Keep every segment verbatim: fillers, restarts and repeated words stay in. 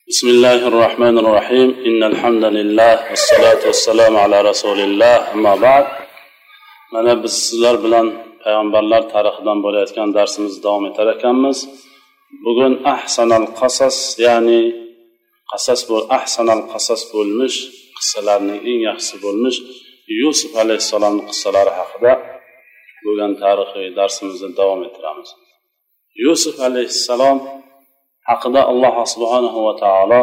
بسم الله الرحمن الرحيم إن الحمد لله والصلاة والسلام على رسول الله أما بعد mana biz sizlar bilan payg'ambarlar tarixidan bo'layotgan darsimizni davom etar ekanmiz. Bugun ahsanal qasas, ya'ni qasas bo'l ahsanal qasas bo'lmish qissalarning eng yaxshisi bo'lmish Yusuf alayhissalomning qissalari haqida bo'lgan tarixiy darsimizni davom ettiramiz. Yusuf alayhissalom haqida Alloh subhanahu va taolo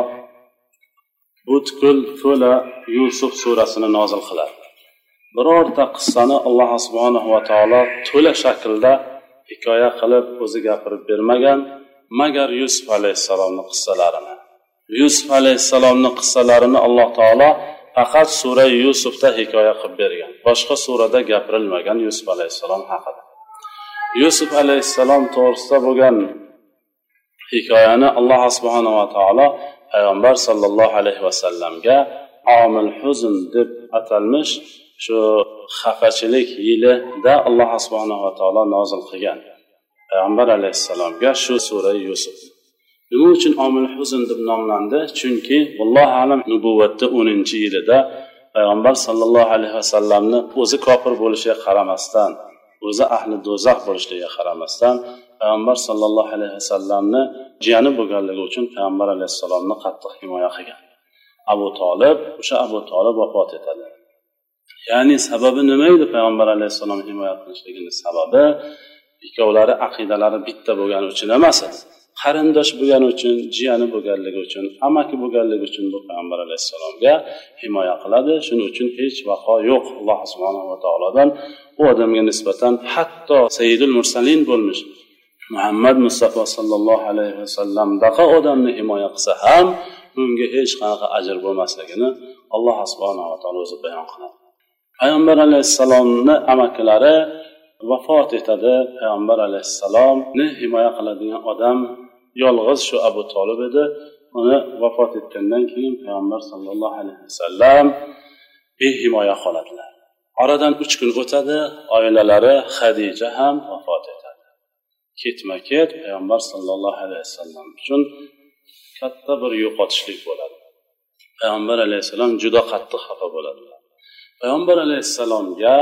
butkul to'la Yusuf surasini nozil qiladi. Birorta qissani Alloh subhanahu va taolo to'la shaklda hikoya qilib o'zi gapirib bermagan, magar Yusuf alayhissalomning qissalarini. Yusuf alayhissalomning qissalarini Alloh taolo faqat sura Yusufda hikoya qilib bergan. Boshqa surada gapirilmagan Yusuf alayhissalom haqida. Yusuf alayhissalom to'g'risida bo'lgan hikoyani Alloh subhanahu va taolo payg'ambar sallallohu alayhi va sallamga omil huzn deb atalmish shu xafachilik yilida Alloh subhanahu va taolo nozil qilgan. Payg'ambar alayhissalomga shu sura Yusuf. Nima uchun omil huzn deb nomlandi? Chunki vallohu alam nubuvatda o'ninchi yilida payg'ambar sallallohu alayhi va sallamni o'zi kofir bo'lishiga qaramasdan, o'zi ahli do'zax bo'lishiga qaramasdan payg'ambar sallallohu alayhi vasallamni jiyani bo'lganligi uchun payg'ambar alayhissalomni qattiq himoya qilgan. Abu Talib, o'sha Abu Talib vafot etadi. Ya'ni sababi nima edi payg'ambar alayhissalom himoya qilishligining sababi? Ikkovlari aqidalari bitta bo'lgani uchun emas, qarindosh bo'lgani uchun, jiyani bo'lganligi uchun, amaki bo'lganligi uchun bu payg'ambar alayhissalomga himoya qiladi. Shuning uchun hech vaqo yo'q Alloh subhanahu va taolodan u odamga nisbatan, hatto sayyidul mursalin bo'lmish Muhammad Mustafa sallallohu alayhi vasallamdaqa odamni himoya qilsa ham unga hech qanaqa ajr bo'lmasligini Alloh subhanahu va taolo o'zi bayon qiladi. Payg'ambar alayhissalomni amakilari vafot etadi. Payg'ambar alayhissalomni himoya qiladigan odam yolg'iz shu Abu Talib edi. Uni vafot etgandan keyin payg'ambar sallallohu alayhi vasallam behimoya qoladilar. Oradan uch kun o'tadi, oilalari Xadija ham vafot etadi. Ketma-ket payg'ambar sallallohu alayhi vasallam uchun katta bir yo'qotishlik bo'ladi. Payg'ambar alayhissalom juda qattiq xafa bo'ladi. Payg'ambar alayhissalomga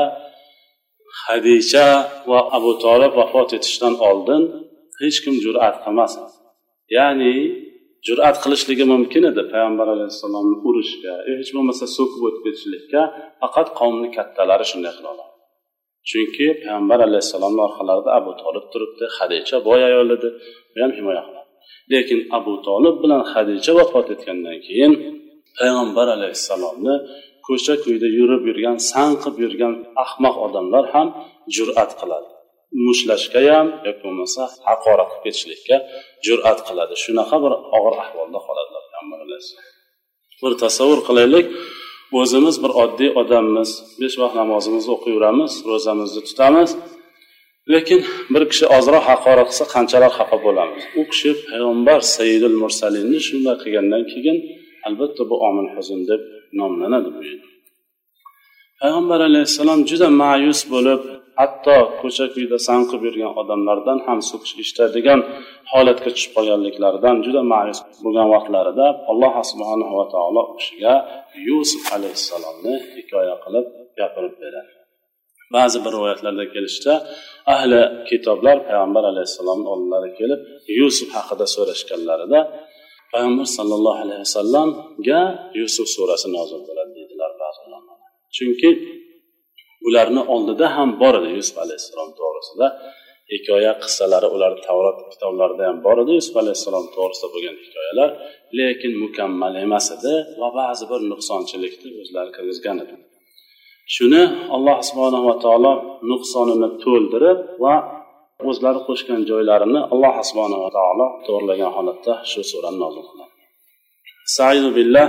Xadija va Abu Talib vafot etishdan oldin hech kim jur'at qilmasdi. Ya'ni jur'at qilishligi mumkin edi payg'ambar alayhissalomni urishga, hech bo'lmasa so'kib o'tib ketishlikka, faqat qavmning kattalari shunday qila oladi. Chunki payg'ambar alayhissalomning orqalarida Abu Talib turibdi, Xadija boy ayol edi, u ham himoya qiladi. Lekin Abu Talib bilan Xadija vafot etgandan keyin payg'ambar alayhissalomni ko'cha-ko'yda yurib yurgan, sanqib yurgan ahmoq odamlar ham jur'at qiladi. Mushlashga ham yoki bo'lmasa haqorat qilib ketishlikka jur'at qiladi. Shunaqa bir og'ir ahvolda qoladilar payg'ambar alayhissalom. Bir tasavvur qilaylik, o'zimiz bir oddiy odammiz, besh vaqt namozimizni o'qiyveramiz, ro'zamizni tutamiz, lekin bir kishi ozroq haqorat qilsa qanchalar xafa bo'lamiz. U kishi payg'ambar sayyidul mursalinni shunday qilgandan keyin albatta bu omil huzn deb nomlanadi bu yerda. Payg'ambar alayhissalom juda ma'yus bo'lib, hatto ko'cha-ko'yda sanqib yurgan odamlardan ham so'kish eshitadigan holatga tushib qolganliklaridan juda ma'yus bo'lgan vaqtlarida Alloh subhanahu va taolo u kishiga Yusuf alayhissalomni hikoya qilib gapirib beradi. Ba'zi bir rivoyatlarda kelishicha, ahli kitoblar payg'ambar alayhissalomning oldilariga kelib Yusuf haqida so'rashganlarida payg'ambar sallallohu alayhi vasallamga Yusuf surasi nozil bo'ladi dedilar ba'zi ulamor. Chunki ularni oldida ham bor edi Yusuf alayhissalom to'g'risida hikoya qissalari, ular Tavrot kitoblarida ham bor edi Yusuf alayhissalom to'g'risida bo'lgan hikoyalar, lekin mukammal emas edi va ba'zi bir nuqsonchilikni o'zlari kirgizgan edi. Shuni Alloh subhanahu va taolo nuqsonini to'ldirib va o'zlari qo'shgan joylarini Alloh subhanahu va taolo to'g'rilagan holatda shu surani nozil qiladi. Sa'idu billah.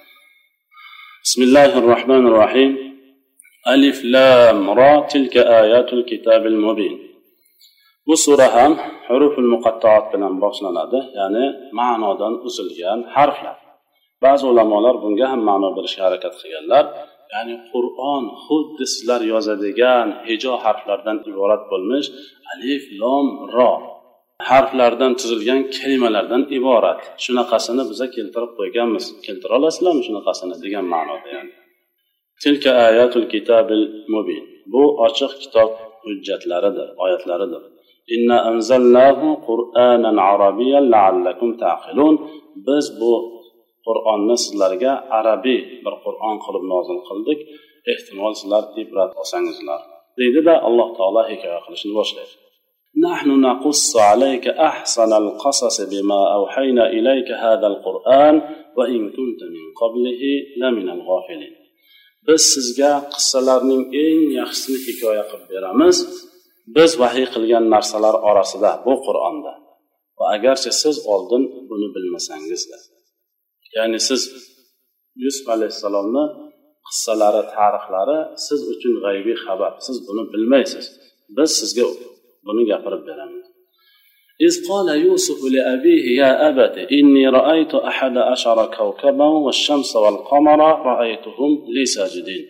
Bismillahir rohmanir rohim. Alif lam ra tilka ayatul kitabil mubin. Bu sura ham huruful muqattaat bilan boshlanadi, ya'ni ma'nodan uzilgan harflar. Ba'zi ulamolar bunga ham ma'no berishga harakat qilganlar. Ya'ni Qur'on xuddi sizlar yozadigan hijo harflardan iborat bo'lmish alif lam ra. harflardan tuzilgan kalimalardan iborat. Shunaqasini biza keltirib qo'yganmiz. Keltira olasizlarmi shunaqasini degan ma'noda yani. Tilka ayatul kitabil mubin. Bu ochiq kitob hujjatlaridir, oyatlaridir. Inna anzalnahu Qur'anan arabiyyan la'allakum ta'qilun. Biz bu Qur'onni sizlarga arabiy bir Qur'on qilib nozil qildik. Ehtimol sizlar ibrat olsangizlar. Deydi-da Alloh taolo hikoya qilishni boshlaydi. Nahnu naqussu alayka ahsanal qasas bima awhayna ilayka hadal Qur'an va in kunta min qablihi laminal ghafilin. Biz sizga qissalarning eng yaxshisini hikoya qilib beramiz. Biz vahiy qilgan narsalar orasida bu Qur'onda. Va agarchi siz oldin buni bilmasangiz-da. Ya'ni siz Yusuf alayhisalomni qissalari, tarixlari siz uchun g'aybiy xabar. Siz buni bilmaysiz. Biz sizga buni gapirib beramiz. إذ قال يوسف لأبيه يا أبت إني رأيت أحد عشر كوكبا والشمس والقمر رأيتهم لي ساجدين.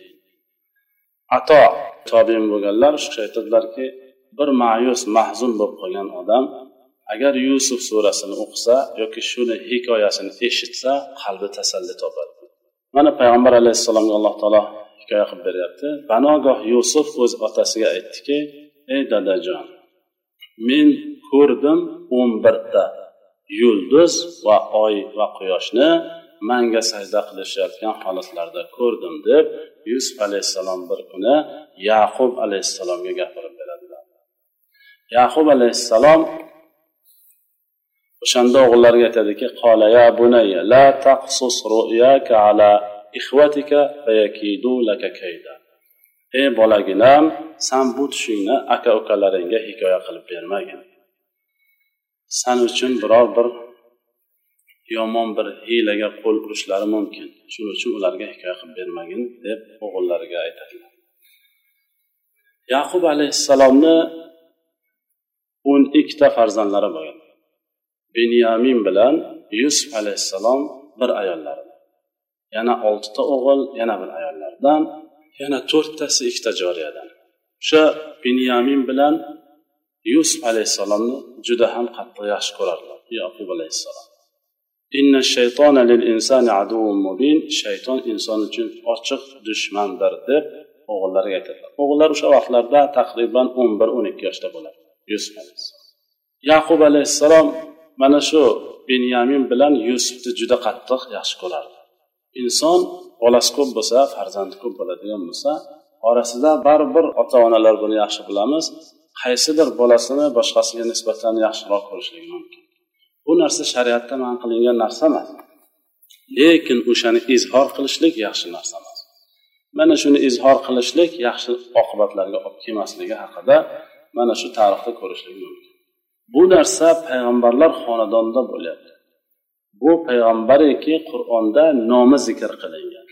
Ato tabiin bo'lganlar shu aytadilarki, bir ma'yus, mahzun bo'lib qolgan odam agar Yusuf surasini o'qisa yoki shuni hikoyasini eshitsa, qalbi tasalli topadi. Mana payg'ambar alayhissalomga Alloh taolo hikoya qilib beryapti. Banogoh Yusuf o'z otasiga aytdiki, ey dadajon, men ko'rdim o'n birta yulduz va oy va quyoshni menga sajda qilishayotgan holatlarda ko'rdim deb Yusuf alayhissalom bir kuni Yaqub alayhissalomga gapirib beradilar. Yaqub alayhissalom o'shanda o'g'illariga aytadiki, qala ya bunayya la taqsus ru'yaka ala ikhwatika fayakidu laka kayda. Ey bolaginam, sen bu tushingni aka-ukalaringga hikoya qilib bermagin. Sen uchun biror bir yomon bir hiylaga qo'l urishlari mumkin. Shuning uchun ularga hikoya qilib bermagin deb o'g'illariga aytadilar. Yaqub alayhissalomni o'n ikkita farzandlari bo'lgan. Binyamin bilan Yusuf alayhissalom bir ayollari. Yana oltita o'g'il, yana bir ayollardan, yana to'rttasi ikkita joriyadan. O'sha Binyamin bilan Yusuf alayhissalomni juda ham qattiq yaxshi ko'rardilar. Yaqub alayhissalom. Inna shaytona lil insani aduwwun mubin. Shayton inson uchun ochiq dushmandir deb o'g'illariga aytadilar. O'g'illar o'sha vaqtlarda taqriban o'n bir o'n ikki yoshda bo'ladi. Yusuf alayhissalom. Yaqub alayhissalom mana shu Binyamin bilan Yusufni juda qattiq yaxshi ko'rardi. Inson bolasi ko'p bo'lsa, farzandi ko'p bo'ladigan bo'lsa, orasida baribir ota-onalar buni yaxshi bilamiz, qaysidir bolasini boshqasiga nisbatan yaxshiroq ko'rishligi mumkin. Bu narsa shariatda man qilingan narsa emas. Lekin o'shani izhor qilishlik yaxshi narsa emas. Mana shuni izhor qilishlik yaxshi oqibatlarga olib kelmasligi haqida mana shu tarixda ko'rishlik mumkin. Bu narsa payg'ambarlar xonadonida bo'lyapti. Bu payg'ambariki Qur'onda nomi zikr qilingan.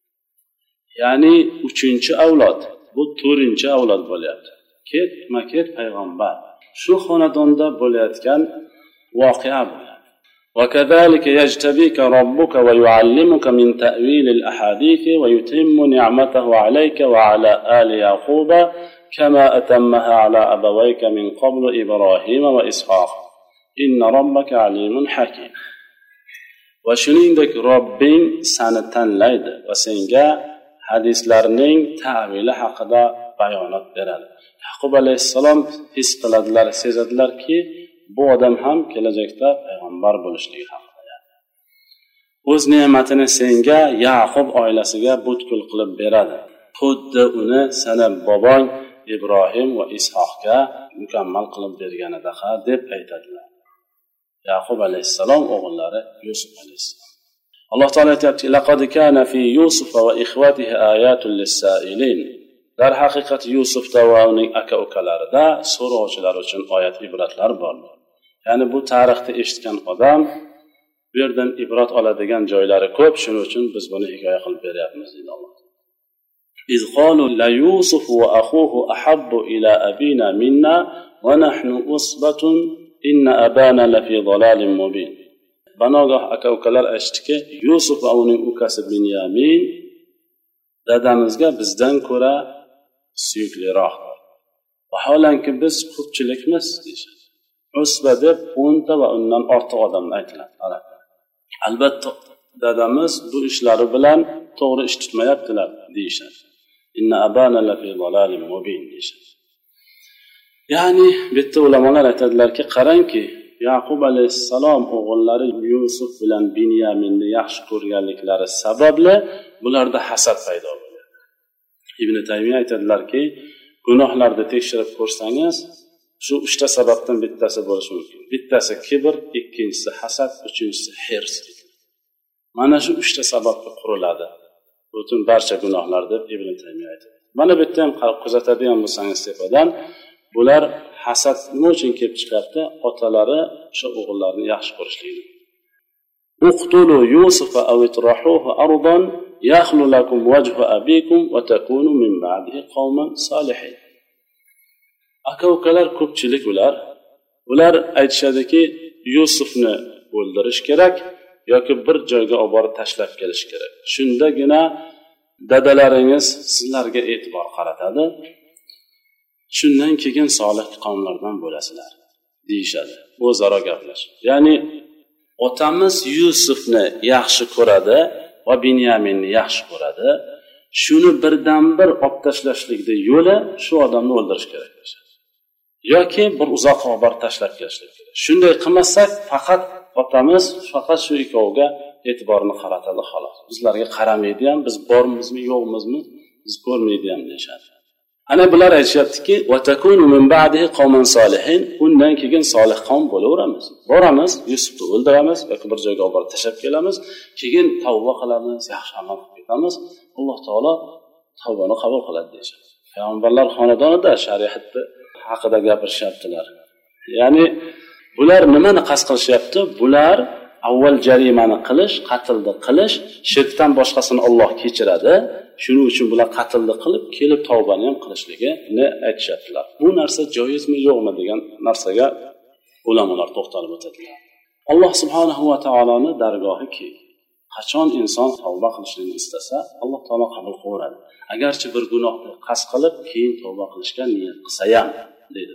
Ya'ni uchinchi avlod, bu to'rtinchi avlod bo'lyapti. Ketma-ket payg'ambar. Shu xonadonda bo'layotgan voqea bo'ladi. وكذلك يجتبيك ربك ويعلمك من تأويل الأحاديث ويتم نعمته عليك وعلى آل يعقوب كما أتمها على أبويك من قبل إبراهيم وإسحاق إن ربك عليم حكيم. وشنيندك ربين seni tanlaydi va senga hadislarning ta'vili haqida bayonot beradi. Yaqub alayhissalom his qiladilar, sezadilarki, bu odam ham kelajakda payg'ambar bo'lishligi haqida. O'z ne'matini senga, Yaqub oilasiga butkul qilib beradi. Xuddi uni sana bobong Ibrohim va Ishoqqa mukammal qilib berganidaqa deb aytadilar. Yaqub alayhissalom o'g'illari Yusuf alayhissalom. Alloh taolo aytayapti: "Laqad kana fi Yusuf va ikhwatihi ayatun lis-sa'ilin." Dar haqiqat Yusufda va uning aka-ukalarida so'rovchilar uchun oyat ibratlar bor. Ya'ni bu tarixni eshitgan odam bu yerdan ibrat oladigan joylari ko'p, shuning uchun biz buni hikoya qilib beryapmiz deydi Alloh. "İz qalu la Yusuf va akhuhu ahabbu ila abina minna va nahnu usbatun inna abana la fi dalalin mubin." Banogoh aka-ukalar aytishdiki, Yusuf va uning ukasi Binyamin dadamizga bizdan ko'ra suyukliroq. Vaholanki biz ko'pchilikmiz deyishadi. usba deb o'nta va undan ortiq odamni aytiladi. Albatta dadamiz bu ishlari bilan to'g'ri ish tutmayaptilar deyishadi. Inna abana la fi dalalin mubin deyishadi. Ya'ni bitta ulamolar aytadilarki, qarangki, Yaqub alayhissalom o'g'illari Yusuf bilan Binyaminni yaxshi ko'rganliklari sababli bularda hasad paydo bo'ldi. Ibn Taymiya aytadilarki, gunohlarni tekshirib ko'rsangiz, shu uchta sababdan bittasi bo'lishi mumkin. Bittasi kibr, ikkinchisi hasad, uchinchisi hirs. Mana shu uchta sababga quriladi butun barcha gunohlar deb Ibn Taymiya aytadi. Mana bu yerda ham kuzatadigan bo'lsangiz tepadan, bular hasad nima uchun kelib chiqyapti? Otalari o'sha o'g'illarni yaxshi ko'rishligini. Uqtulu Yusufa aw itrahuhu ardan yakhlu lakum wajhu abikum wa takunu min ba'dihi qauman salihin. Aka-ukalar ko'pchilik ular. Ular aytishadiki, Yusufni o'ldirish kerak yoki bir joyga olib borib tashlab kelish kerak. Shundagina dadalaringiz sizlarga e'tibor qaratadi. Shundan keyin solih qavmlardan bo'lasizlar deyishadi. O'zaro gaplash. Ya'ni otamiz Yusufni yaxshi ko'radi va Binyaminni yaxshi ko'radi. Shuni birdan bir olib tashlashlikning yo'li shu odamni o'ldirish kerak bo'ladi. Yoki bir uzoqqa olib borib tashlab kelishlik kerak. Shunday qilmasak, faqat otamiz faqat shu ikkoviga e'tiborni qaratadi xolos. Bizlarga qaramaydi ham, biz bormizmi, yo'qmizmi, biz ko'rmaydi ham deyshadi. Ana bular aytishyaptiki, "Va takunu min ba'dihi qauman solihin", undan keyin solih qavm bo'laveramiz. Boramiz, Yusufni o'ldiramiz yoki bir joyga olib borib tashlab kelamiz, keyin tavba qilamiz, yaxshi amal qilib ketamiz. Alloh taolo tavbani qabul qiladi deyshadi. Payg'ambarlar xonadonida shariatni haqida gapirishyaptilar. Ya'ni bular nimani qasd qilishyapti? Bular avval jarimani qilish, qatlni qilish, shirkdan boshqasini Alloh kechiradi. Shuning uchun bular qatlni qilib, kelib tavbani ham qilishligini aytishyaptilar. Bu narsa joizmi, yo'qmi degan narsaga ulamolar to'xtalib o'tadilar. Alloh subhanahu va taoloning dargohiki, qachon inson tavba qilishni istasa, Alloh taolo qabul qiladi. Agarchi bir gunohni qasd qilib, keyin tavba qilishga niyat qilsa ham, deydi.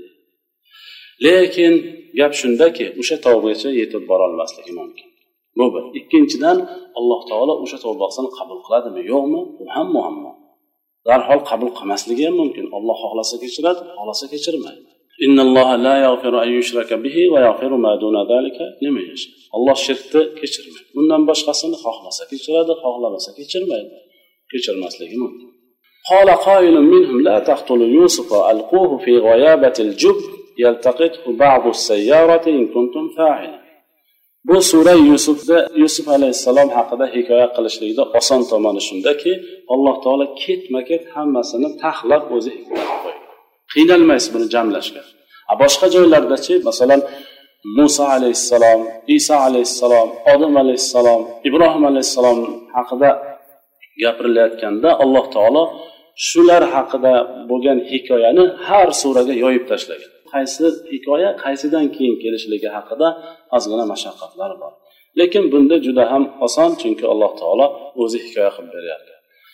Lekin gap shundaki, o'sha tavbagacha yetib bora olmasligi mumkin. Bu bir. Ikkinchidan, Alloh taolo o'sha tavbasini qabul qiladimi, yo'qmi? Bu ham muammo. Darhol qabul qilmasligi ham mumkin. Alloh xohlasa kechiradi, xohlasa kechirmaydi. Innalloha la yaghfiru an yushraka bihi va yaghfiru ma duna zalika liman yasha. Alloh shirkni kechirmaydi. Undan boshqasini xohlasa kechiradi, xohlamasa kechirmaydi. Kechirmasligi mumkin. Qala qailun minhum la taqtulu Yusufa alquhu fi ghayabati al-jub yaltaqithu ba'du as-sayyarati in kuntum fa'ilin. Bu sura Yusufda Yusuf alayhissalom haqida hikoya qilishlikda oson tomoni shundaki, Alloh taolo ketma-ket hammasini taxlab o'zi hikoya qiladi. Qiynalmaysiz buni jamlashga. A boshqa joylarda-chi, masalan, Musa alayhissalom, Isa alayhissalom, Odam alayhissalom, Ibrohim alayhissalom haqida gapirilayotganda Alloh taolo shular haqida bo'lgan hikoyani har suraga yoyib tashlagan. Qaysi hikoya qaysidan keyin kelishligi haqida ozgina mashaqqatlar bor. Lekin bunda juda ham oson, chunki Alloh taolo o'zi hikoya qilib beryapti.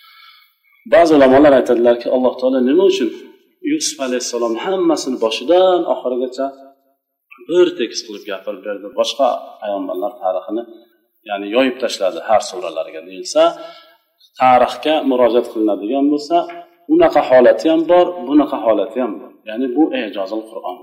Ba'zi ulamolar aytadilarki, Alloh taolo nima uchun Yusuf alayhissalom hammasini boshidan oxirigacha bir tekis qilib gapirib berdi. Boshqa payg'ambarlar tarixini, ya'ni yoyib tashladi har suralarga deyilsa, tarixga murojaat qilinadigan bo'lsa, unaqa holati ham bor, bunaqa holati ham bor. Ya'ni bu ijozul Qur'on.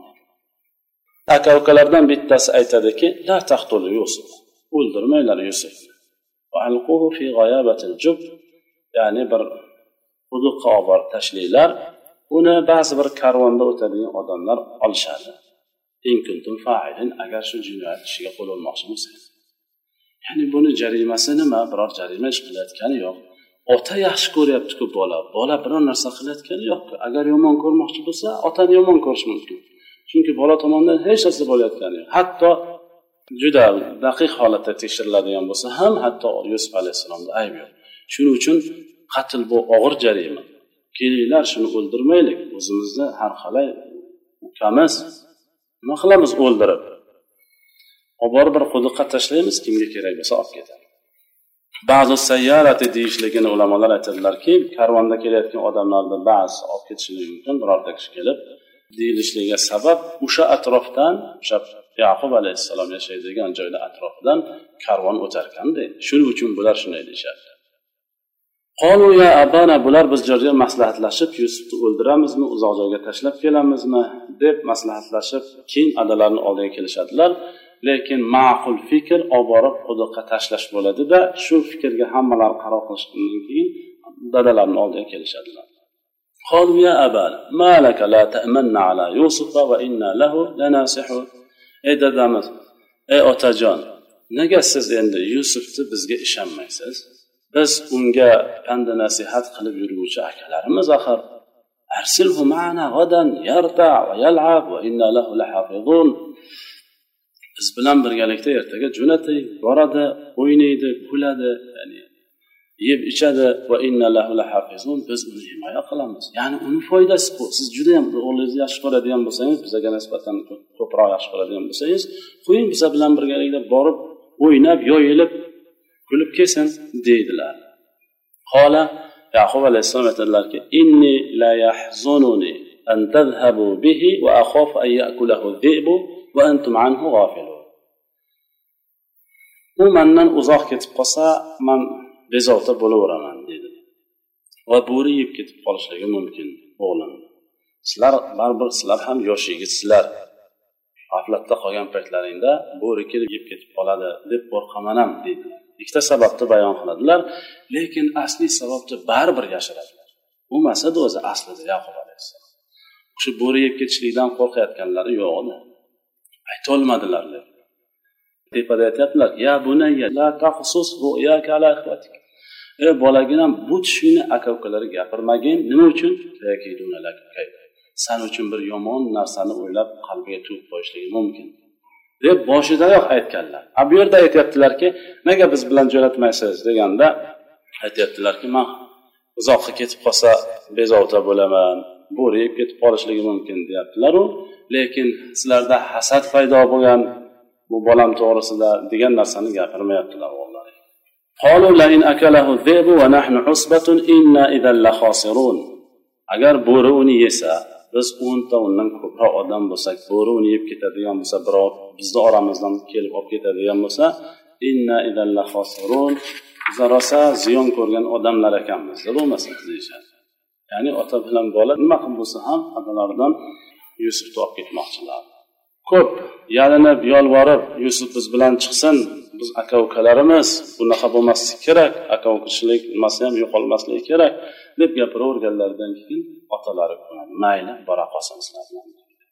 Aka-ukalardan bittasi aytadiki, la taqtul Yusuf. O'ldirmanglar Yusufni. Va alquhu fi ghayabatil jub. Ya'ni bir quduqqa olib borib tashlanglar. Uni ba'zi bir karvonda o'tadigan odamlar olishadi. In kuntum fa'ilin, agar shu jinoyat ishiga qo'l urmoqchi bo'lsangiz. Ya'ni buni jarimasi nima? Biror jarima ish qilayotgani yo'q. Ota yaxshi ko'ryapti-ku bola. Bola biror narsa qilayotgani yo'q. Agar yomon ko'rmoqchi bo'lsa, otani yomon ko'rish mumkin. Chunki bola tomonidan hech narsa bo'layotgani yo'q. Hatto juda daqiq holatda tekshiriladigan bo'lsa ham, hatto Yusuf alayhissalomda ayb yo'q. Shuning uchun qatl bu og'ir jarima. Kelinglar, shuni o'ldirmaylik. O'zimizni har qalay ukamiz nima qilamiz o'ldirib? Obor bir quduqqa tashlaymiz, kimga kerak bo'lsa olib ketadi. Ba'zi sayyarati deyishligini ulamolar aytadilarki, karvonda kelayotgan odamlarni ba'zi olib ketishligi mumkin, birorta kishi kelib, deyilishiga sabab o'sha atrofdan, o'sha Yaqub alayhissalom yashaydigan joyda atrofidan karvon o'targanda, shuning uchun bular shunday deyishadi. Qolu ya abana, bular biz joyga maslahatlashib Yusufni o'ldiramizmi, uzoq joyga tashlab kelamizmi deb maslahatlashib, keyin adalarini oldiga kelishadilar. Lekin ma'qul fikr olib borib quduqqa tashlash bo'ladi-da, shu fikrga hammalar qaror qilishdan keyin dadalarini oldiga kelishadilar. Qolu ya abana, ma laka la ta'manna ala Yusuf va inna lahu lanasihun. Ey dadamiz, ey otajon, nega siz endi Yusufni bizga ishonmaysiz? Biz unga pand nasihat qilib yuruvchi akalarimiz axir. Arsilhu ma'ana ghadan yarta va yal'ab va inna lahu lahafizun. Biz bilan birgalikda ertaga jo'nating, boradi, o'ynaydi, kuladi, ya'ni yeb ichadi va inna lahu lahafizun. Biz uni himoya qilamiz. Ya'ni uni foydasi bu. Siz juda ham o'g'lingizni yaxshi ko'radigan bo'lsangiz, bizga nisbatan ko'proq yaxshi ko'radigan bo'lsangiz, qo'ying biz bilan birgalikda borib, o'ynab, yoyilib kulib kelsin deydilar. Qola Yaqub alayhissalom aytadilarki, inni la yahzununi an tadhhabu bihi va akhafu an ya'kulahu adh-dhi'bu va antum anhu ghafilun. U mendan uzoq ketib qolsa, men bezovta bo'laveraman dedi. Va bo'ri yeb ketib qolishligi mumkin o'g'lim. Sizlar baribir sizlar ham yosh yigitsizlar. G'aflatda qolgan paytlaringda bo'ri kelib yeb ketib qoladi deb qo'rqaman ham dedi. Ikkita sababni bayon qiladilar, lekin asli sababni baribir yashiradilar. U masada o'zi aslida Yaqub alayhissalom. Shu bo'ri yeb ketishlikdan qo'rqayotganlari yo'q edi. Ayta olmadilar. Tepada aytadilar, ya bunayya la taqsus ru'yaka ala ikhwatik. Ey bolaginam, bu tushingni aka-ukalariga gapirmagin. Nima uchun? Sen uchun bir yomon narsani o'ylab qalbiga tuyg'ib qo'yishligi mumkin deb boshidayoq aytganlar. Bu yerda aytayaptilarki, nega biz bilan jo'natmaysiz deganda aytayaptilarki, men uzoqqa ketib qolsa bezovta bo'laman, bo'ri yeb ketib qolishligi mumkin deyaptilar-u, lekin sizlarda hasad paydo bo'lgan bu bolam to'g'risida degan narsani gapirmayaptilar o'g'illar. Qalu la in akalahu dhi'bu wa nahnu husbatun inna idhan la khasirun. Agar bo'ri uni yesa, biz o'nta undan ko'proq odam bo'lsak, bo'ri uni yeb ketadigan bo'lsa, birov bizni oramizdan kelib olib ketadigan bo'lsa, inna idhan la khasirun. Zarosa ziyon ko'rgan odamlar ekanmiz, bo'lmasa deyishadi. Ya'ni ota bilan bola nima qilib bo'lsa ham adalaridan Yusufni olib ketmoqchilar. Ko'p yalinib, yolvorib, Yusuf biz bilan chiqsin, biz aka-ukalarimiz, bunaqa bo'lmasligi kerak, aka-ukachilik nimasi ham yo'qolmasligi kerak deb gapiraverganlardan keyin otalari ko'nadi, mayli, bora qolsin sizlar bilan.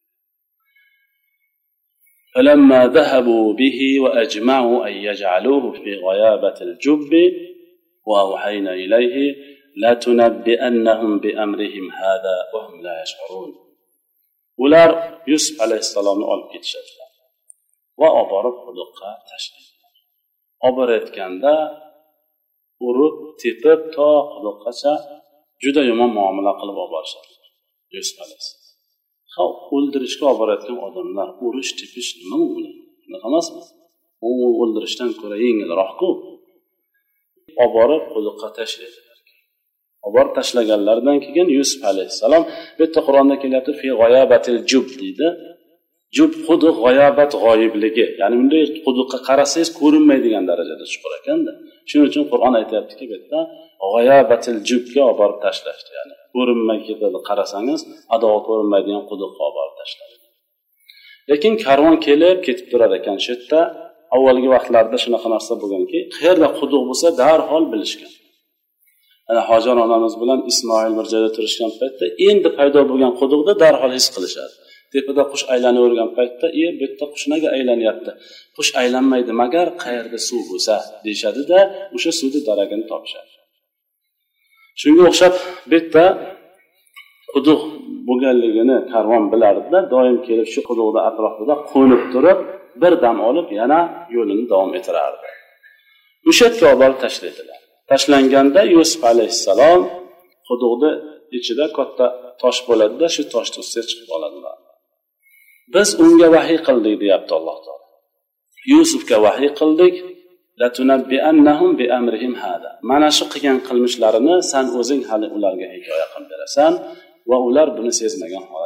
فلما ذهبوا به وأجمعوا أن يجعلوه في غيابة الجب وأوحينا إليه لا تنبئنهم بأمرهم هذا وهم لا يشعرون. Ular Yusuf alayhissalomni olib ketishadilar va olib borib quduqqa tashlaydilar. Olib borayotganda urib, tepib to quduqqacha juda yomon muomala qilib olib borishadilar. Yusuf alayhissalom. Ha, o'ldirishga olib borayotgan odamlar urish, tepish nima u bilan? Nima emasmi? U o'ldirishdan ko'ra yengilroq-ku. Olib borib quduqqa tashlaydilar. Olib tashlaganlardan keyin Yusuf alayhissalom, bu yerda Qur'onda kelyapti, fi g'oyabatil jub deydi. Jub quduq g'oyabat g'oyibligi, ya'ni bunday quduqqa qarasangiz ko'rinmaydigan darajada chuqur ekanda. Shuning uchun Qur'on aytayaptiki, bu yerda g'oyabatil jubga olib borib tashlashdi, ya'ni ko'rinmay ketadi, qarasangiz ado ko'rinmaydigan quduqqa olib borib tashladi. Lekin karvon kelib ketib turar ekan shu yerda. Avvalgi vaqtlarda shunaqa narsa bo'lganki, qayerda quduq bo'lsa darhol bilishgan. Ana Hojar onamiz bilan Ismoil bir joyda turishgan paytda endi paydo bo'lgan quduqda darhol his qilishadi. Tepada qush aylanavergan paytda, "Ey, bu yerda qush nega aylanyapti? Qush aylanmaydi, magar qayerda suv bo'lsa" deyshadi-da, o'sha suvni daragini topishadi. Shunga o'xshab bu yerda quduq bo'lganligini karvon bilardi-da, doim kelib shu quduqda atrofida qo'nib turib, bir dam olib yana yo'lini davom ettirardi. O'sha yerga olib borib tashlaydilar. Tashlanganda Yusuf alayhissalom quduqda ichida katta tosh bo'ladi-da, shu toshni ustiga chiqib oladilar. Biz unga vahiy qildik deyapti Alloh taolo. Yusufga vahiy qildik, la tunabbi'annahum bi amrihim hada. Mana shu qilgan qilmishlarini sen o'zing hali ularga hikoya qilib berasan va ular buni sezmagan holatlarda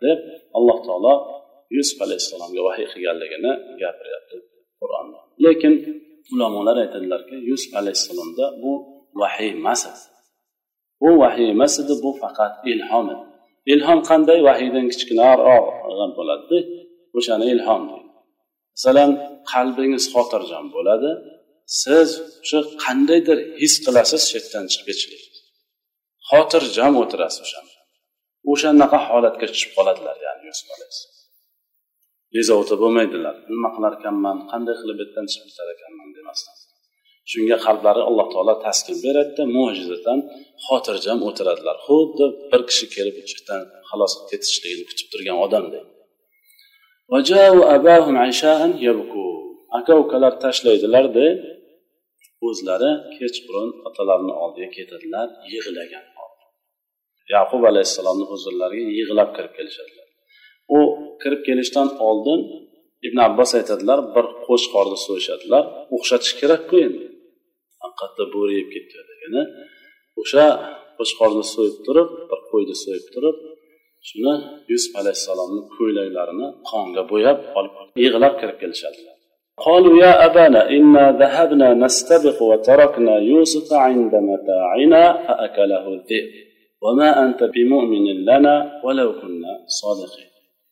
deb alloh taolo Yusuf alayhissalomga vahiy qilganligini gapiryapti Qur'onda. Lekin ulamolar aytadilarki, Yusuf alayhissalomda bu vahiy emas. Bu vahiy emas edi, bu faqat ilhom edi. Ilhom qanday? Vahiydan kichkinaroq bo'ladi. O'shani ilhom deydi. Masalan, qalbingiz xotirjam bo'ladi. Siz shu qandaydir his qilasiz, chetdan chiqib ketishlik. Xotirjam o'tirasiz o'shanda. O'shanaqa holatga tushib qoladilar, ya'ni Yusuf alayhissalom. Bezovta bo'lmaydilar. Nima qilar ekanman, qanday qilib betdan chiqib ketar ekanman demasdan. Shunga qalblari Alloh taolo taskin beradi, mo'jizatan xotirjam o'tiradilar. Xuddi bir kishi kelib ichdan xalos ketishligini kutib turgan odamdek. Vaja'u abahum aisha'an yabku. Aka-ukalar tashlaydilar-da, o'zlari kechqurun otalarining oldiga ketadilar, yig'lagan. Yaqub alayhissalomning huzurlariga yig'lab kirib kelishadilar. U kirib kelishdan oldin Ibn Abbos aytadilar, bir qo'shqorni so'yishadilar, o'xshatish kerak-ku endi. Haqiqatda bo'ri yeb ketganligini, o'sha qo'shqorni so'yib turib, bir qo'yni so'yib turib, shuni Yusuf alayhissalomning ko'ylaklarini qonga bo'yab olib yig'lab kirib kelishadilar. قالوا يا أبانا إنا ذهبنا نستبق وتركنا يوسف عند متاعنا فأكله الذئب وما أنت بمؤمن لنا ولو كنا صادقين.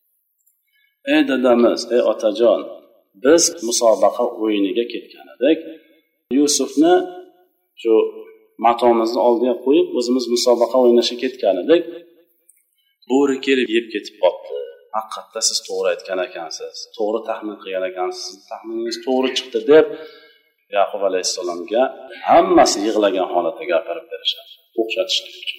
Ey dadamiz, ey otajon, biz musobaqa o'yiniga ketgan edik. Yusufni shu matomizni oldiga qo'yib, o'zimiz musobaqa o'ynashga ketgan edik. Bo'ri kelib yeb ketib qoldi. Haqiqatda siz to'g'ri aytgan ekansiz, to'g'ri taxmin qilgan ekansiz, taxminingiz to'g'ri chiqdi deb Yaqub alayhissalomga hammasi yig'lagan holatda gapirib berishadi, o'xshatishlik uchun.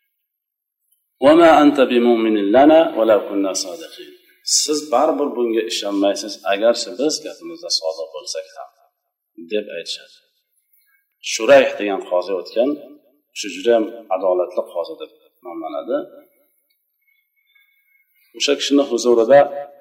"Va ma anta bimu'minin lana va law kunna sodiqin." Siz baribir bunga ishonmaysiz, agarchi biz gapimizda sodiq bo'lsak ham deb aytishadi. Shurayh degan qozi o'tgan, shu juda ham adolatli qozi deb nomlanadi. O'sha kishining huzurida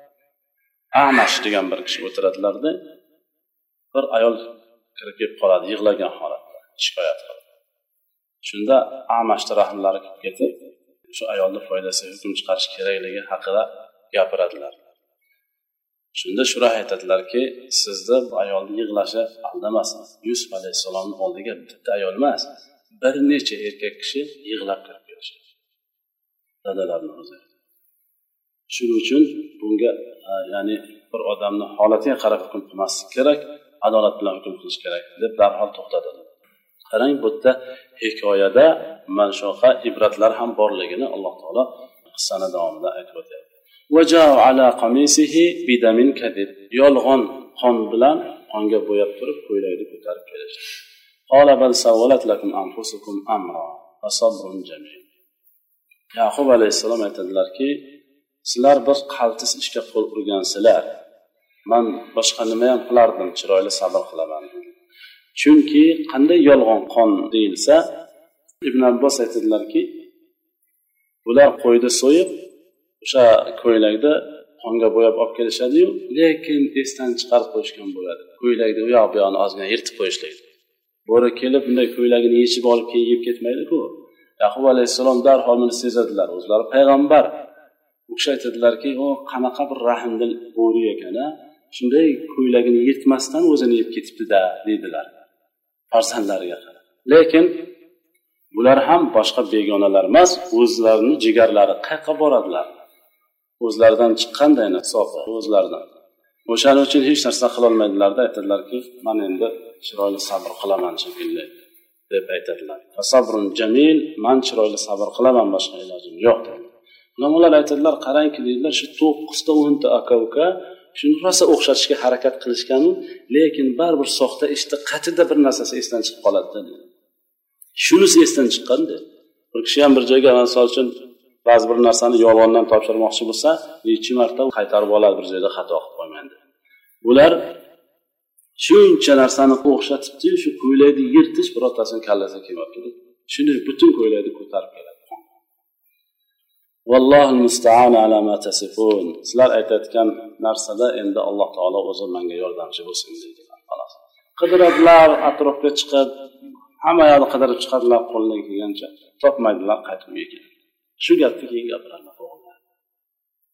Amash degan bir kishi o'tiradilarda, bir ayol kirib kelib qoladi, yig'lagan holatda, shikoyat qilib. Shunda Amashning rahmlari kelib ketib, shu ayolni foydasiga hukm chiqarish kerakligi haqida gapiradilar. Shunda Shurayh aytadilarki, sizni bu ayolning yig'lashi aldamasin. Yusuf alayhissalomning oldiga bitta ayol emas, bir necha erkak kishi yig'lab kirib kelishadi. Dadalarning o'zi. Shuning uchun bunga ya'ni bir odamning holatiga qarab hukm qilmaslik kerak, adolat bilan hukm qilish kerak deb darhol to'xtadilar. Qarang, bu yerda hikoyada mana shunaqa ibratlar ham borligini Alloh taolo qissani davomida aytib o'tyapti. Waja'u ala qamisihi bidamin kadib. Yolg'on qon bilan qonga bo'yab turib ko'ylakni ko'tarib kelishdi. Qala bal sawwalat lakum anfusukum amra fa sabrun jamil. Yaqub alayhissalom aytadilarki, sizlar bir qaltis ishga qo'l urgansizlar. Men boshqa nima ham qilardim, chiroyli sabr qilaman. Chunki qanday yolg'on qon deyilsa, Ibn Abbos aytadilarki, ular qo'ydi so'yib, o'sha ko'ylakda qonga bo'yab olib kelishadi-yu, lekin esdan chiqarib qo'yishgan bo'ladi. Ko'ylakni u yoq bu yoqni ozgina yirtib qo'yishlaydi. Bo'ri kelib bunday ko'ylagini yechib olib kiyib ketmaydi-ku. Yaqub alayhissalom darhol buni sezadilar, o'zlari payg'ambar. O'sha aytadilarki, "O qanaqa bir rahmdil bo'ri ekan-a, shunday ko'ylagini yirtmasdan o'zini yeb ketibdi-da", dedilar farzandlariga. Lekin bular ham boshqa begonalar emas, o'zlarining jigarlari qayerga boradilar? O'zlaridan chiqqanday hisobi o'zlaridan. O'shaning uchun hech narsa qila olmaydilar-da, aytadilarki, "Men endi chiroyli sabr qilaman shekilli" deb aytadilar. "Fasabrun jamil", men chiroyli sabr qilaman, boshqa ilojim yo'q dedi. Ulamolar aytadilar, qarangki dedilar, shu to'qqizta o'nta aka-uka shuni rosa o'xshatishga harakat qilishgan, lekin baribir soxta ishda qatida bir narsasi esdan chiqib qoladi dedi. Shunisi esdan chiqqanda, bir kishi ham bir joyga masol uchun ba'zi bir narsani yolg'ondan topshirmoqchi bo'lsa, necha marta qaytarib oladi, bir joyda xato qilib qo'ymaydi. Bular shuncha narsani o'xshatibdi, shu ko'ylakni yirtish birortasini kallasiga kelmayapti. Shuni butun ko'ylakni ko'tarib keladi. Vallohul musta'an ala ma tasifun. Sizlar aytayotgan narsada endi Alloh taolo o'zi menga yordamchi bo'lsin deydilar. Xolos. Qidiradilar, atrofga chiqib, hamma yoqni qidirib chiqadilar, qo'ldan kelgancha topmaydilar, qaytib uyga keladi. Shu gapni keyin gapiradilar.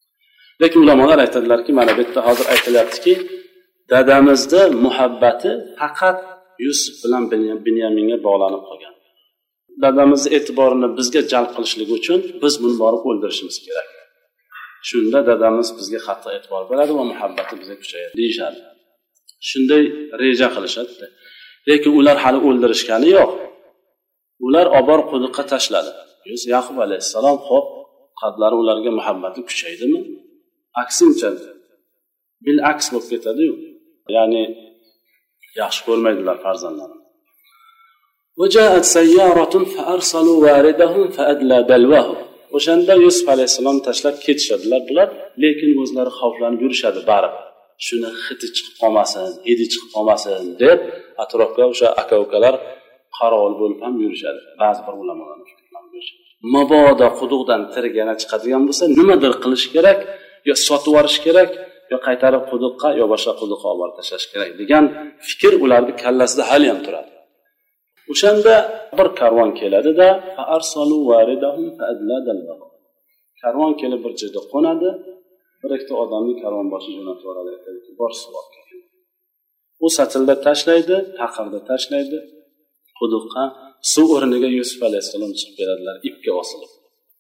lekin ulamolar aytadilarki, mana bu yerda hozir aytilyaptiki, dadamizni muhabbati faqat Yusuf bilan Binyaminga bog'lanib qolgan. Dadamizni e'tiborini bizga jalb qilishligi uchun biz buni borib o'ldirishimiz kerak. Shunda dadamiz bizga qattiq e'tibor beradi va muhabbati bizga kuchayadi deyishadi. Shunday reja qilishadi. Lekin ular hali o'ldirishgani yo'q. Ular obor quduqqa tashladi. Yusuf Yaqub alayhissalom xo'p, qadlari ularga muhabbati kuchaydimi? Aksincha bil aks bo'lib ketadi-yu. Ya'ni yaxshi ko'rmaydilar farzandlarini. وجاءت سيارة فأرسلوا واردهم فأدلى دلوه. O'shanda Yusuf alayhissalom tashlab ketishadilar bular, lekin o'zlari xavflanib yurishadi barib. Shuni hidi chiqib qolmasin, hidi chiqib qolmasin deb atrofga o'sha aka-ukalar qarovul bo'lib ham yurishadi. Ba'zi bir ulamolar mabodo quduqdan tirik yana chiqadigan bo'lsa, nimadir qilish kerak, yo sotib yuborish kerak, yo qaytarib quduqqa, yo boshqa quduqqa olib tashlash kerak degan fikr ularning kallasida hali ham turadi. O'shanda bir karvon keladida, fa arsalu waridahum fa adladallahu. Karvon kelib bir joyda qo'nadi, bir ikkita odamni karvon boshi jo'natib yuboradi, aytadiki, bor suv olib kelin. U satilda tashlaydi, taqirda tashlaydi, quduqqa suv o'rniga Yusuf alayhissalom chiqib keladilar, ipga osilib.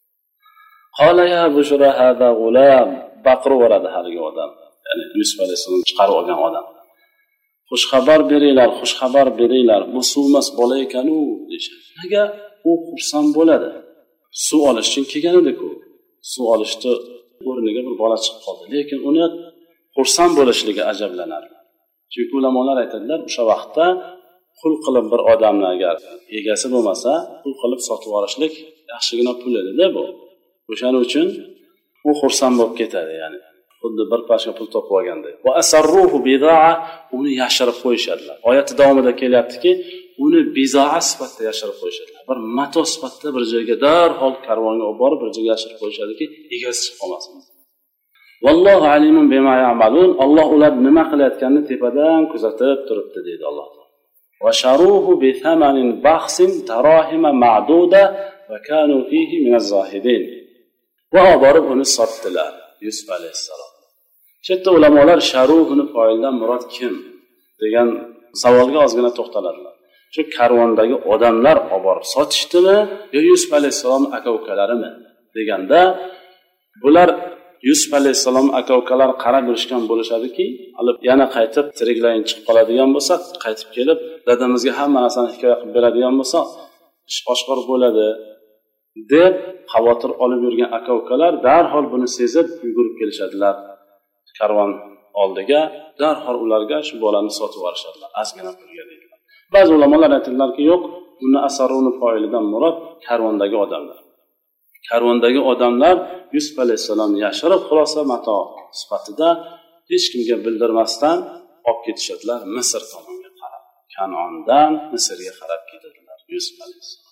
Qala ya bushra hada gulam, baqiraveradi haligi odam, ya'ni Yusuf alayhissalom chiqarib olgan odam. Xush xabar beringlar, xush xabar beringlar, bu suvmas bola ekan-u deyshadi. Nega u xursand bo'ladi? Suv olish uchun kelgan edi-ku. Suv olishni o'rniga bir bola chiqib qoldi, lekin uni xursand bo'lishligi ajablanardi. Chunki ulamolar aytadilar, o'sha vaqtda qul qilib bir odamni agar egasi bo'lmasa, qul qilib sotib olishlik yaxshigina pul edi-da bu. O'shaning uchun u xursand bo'lib ketadi, ya'ni xuddi bir pashka pul topib olganda. Va asarruhu bidaa, uni yashirib qo'yishadilar. Oyat davomida kelyaptiki, uni bizoa sifatida yashirib qo'yishadilar. Bir mato sifatida bir joyga darhol karvonga olib borib bir joyga yashirib qo'yishadiki, egasi chiqib qolmasin. Vallohu alimun bima ya'malun. Alloh ular nima qilayotganini tepadan kuzatib turibdi deydi Alloh. Va sharuhu bi thamanin baxsin darahima ma'duda va kanu fihi min az-zahidin. Va borib uni sotdilar Yusuf alayhissalom. Shetda ulamolar sharuhuni foildan murod kim degan savolga ozgina to'xtaladilar. Shu karvondagi odamlar olib borib sotishdimi yo Yusuf alayhissalom aka-ukalarimi deganda, bular Yusuf alayhissalom aka-ukalar qarab yurishgan bo'lishadiki, olib yana qaytib tiriklayin chiqib qoladigan bo'lsa, qaytib kelib dadamizga hamma narsani hikoya qilib beradigan bo'lsa, ish oshkor bo'ladi deb xavotir olib yurgan aka-ukalar darhol buni sezib yugurib kelishadilar karvon oldiga, darhol ularga shu bolani sotib yuborishadilar, ozgina pulga deydilar. Ba'zi ulamolar aytadilarki, yo'q, uni asaruni foilidan murod karvondagi odamlar. Karvondagi odamlar Yusuf alayhissalom yashirib xulosa mato sifatida hech kimga bildirmasdan olib ketishadilar Misr tomonga qarab. Kanondan Misrga qarab ketadilar Yusuf alayhissalom.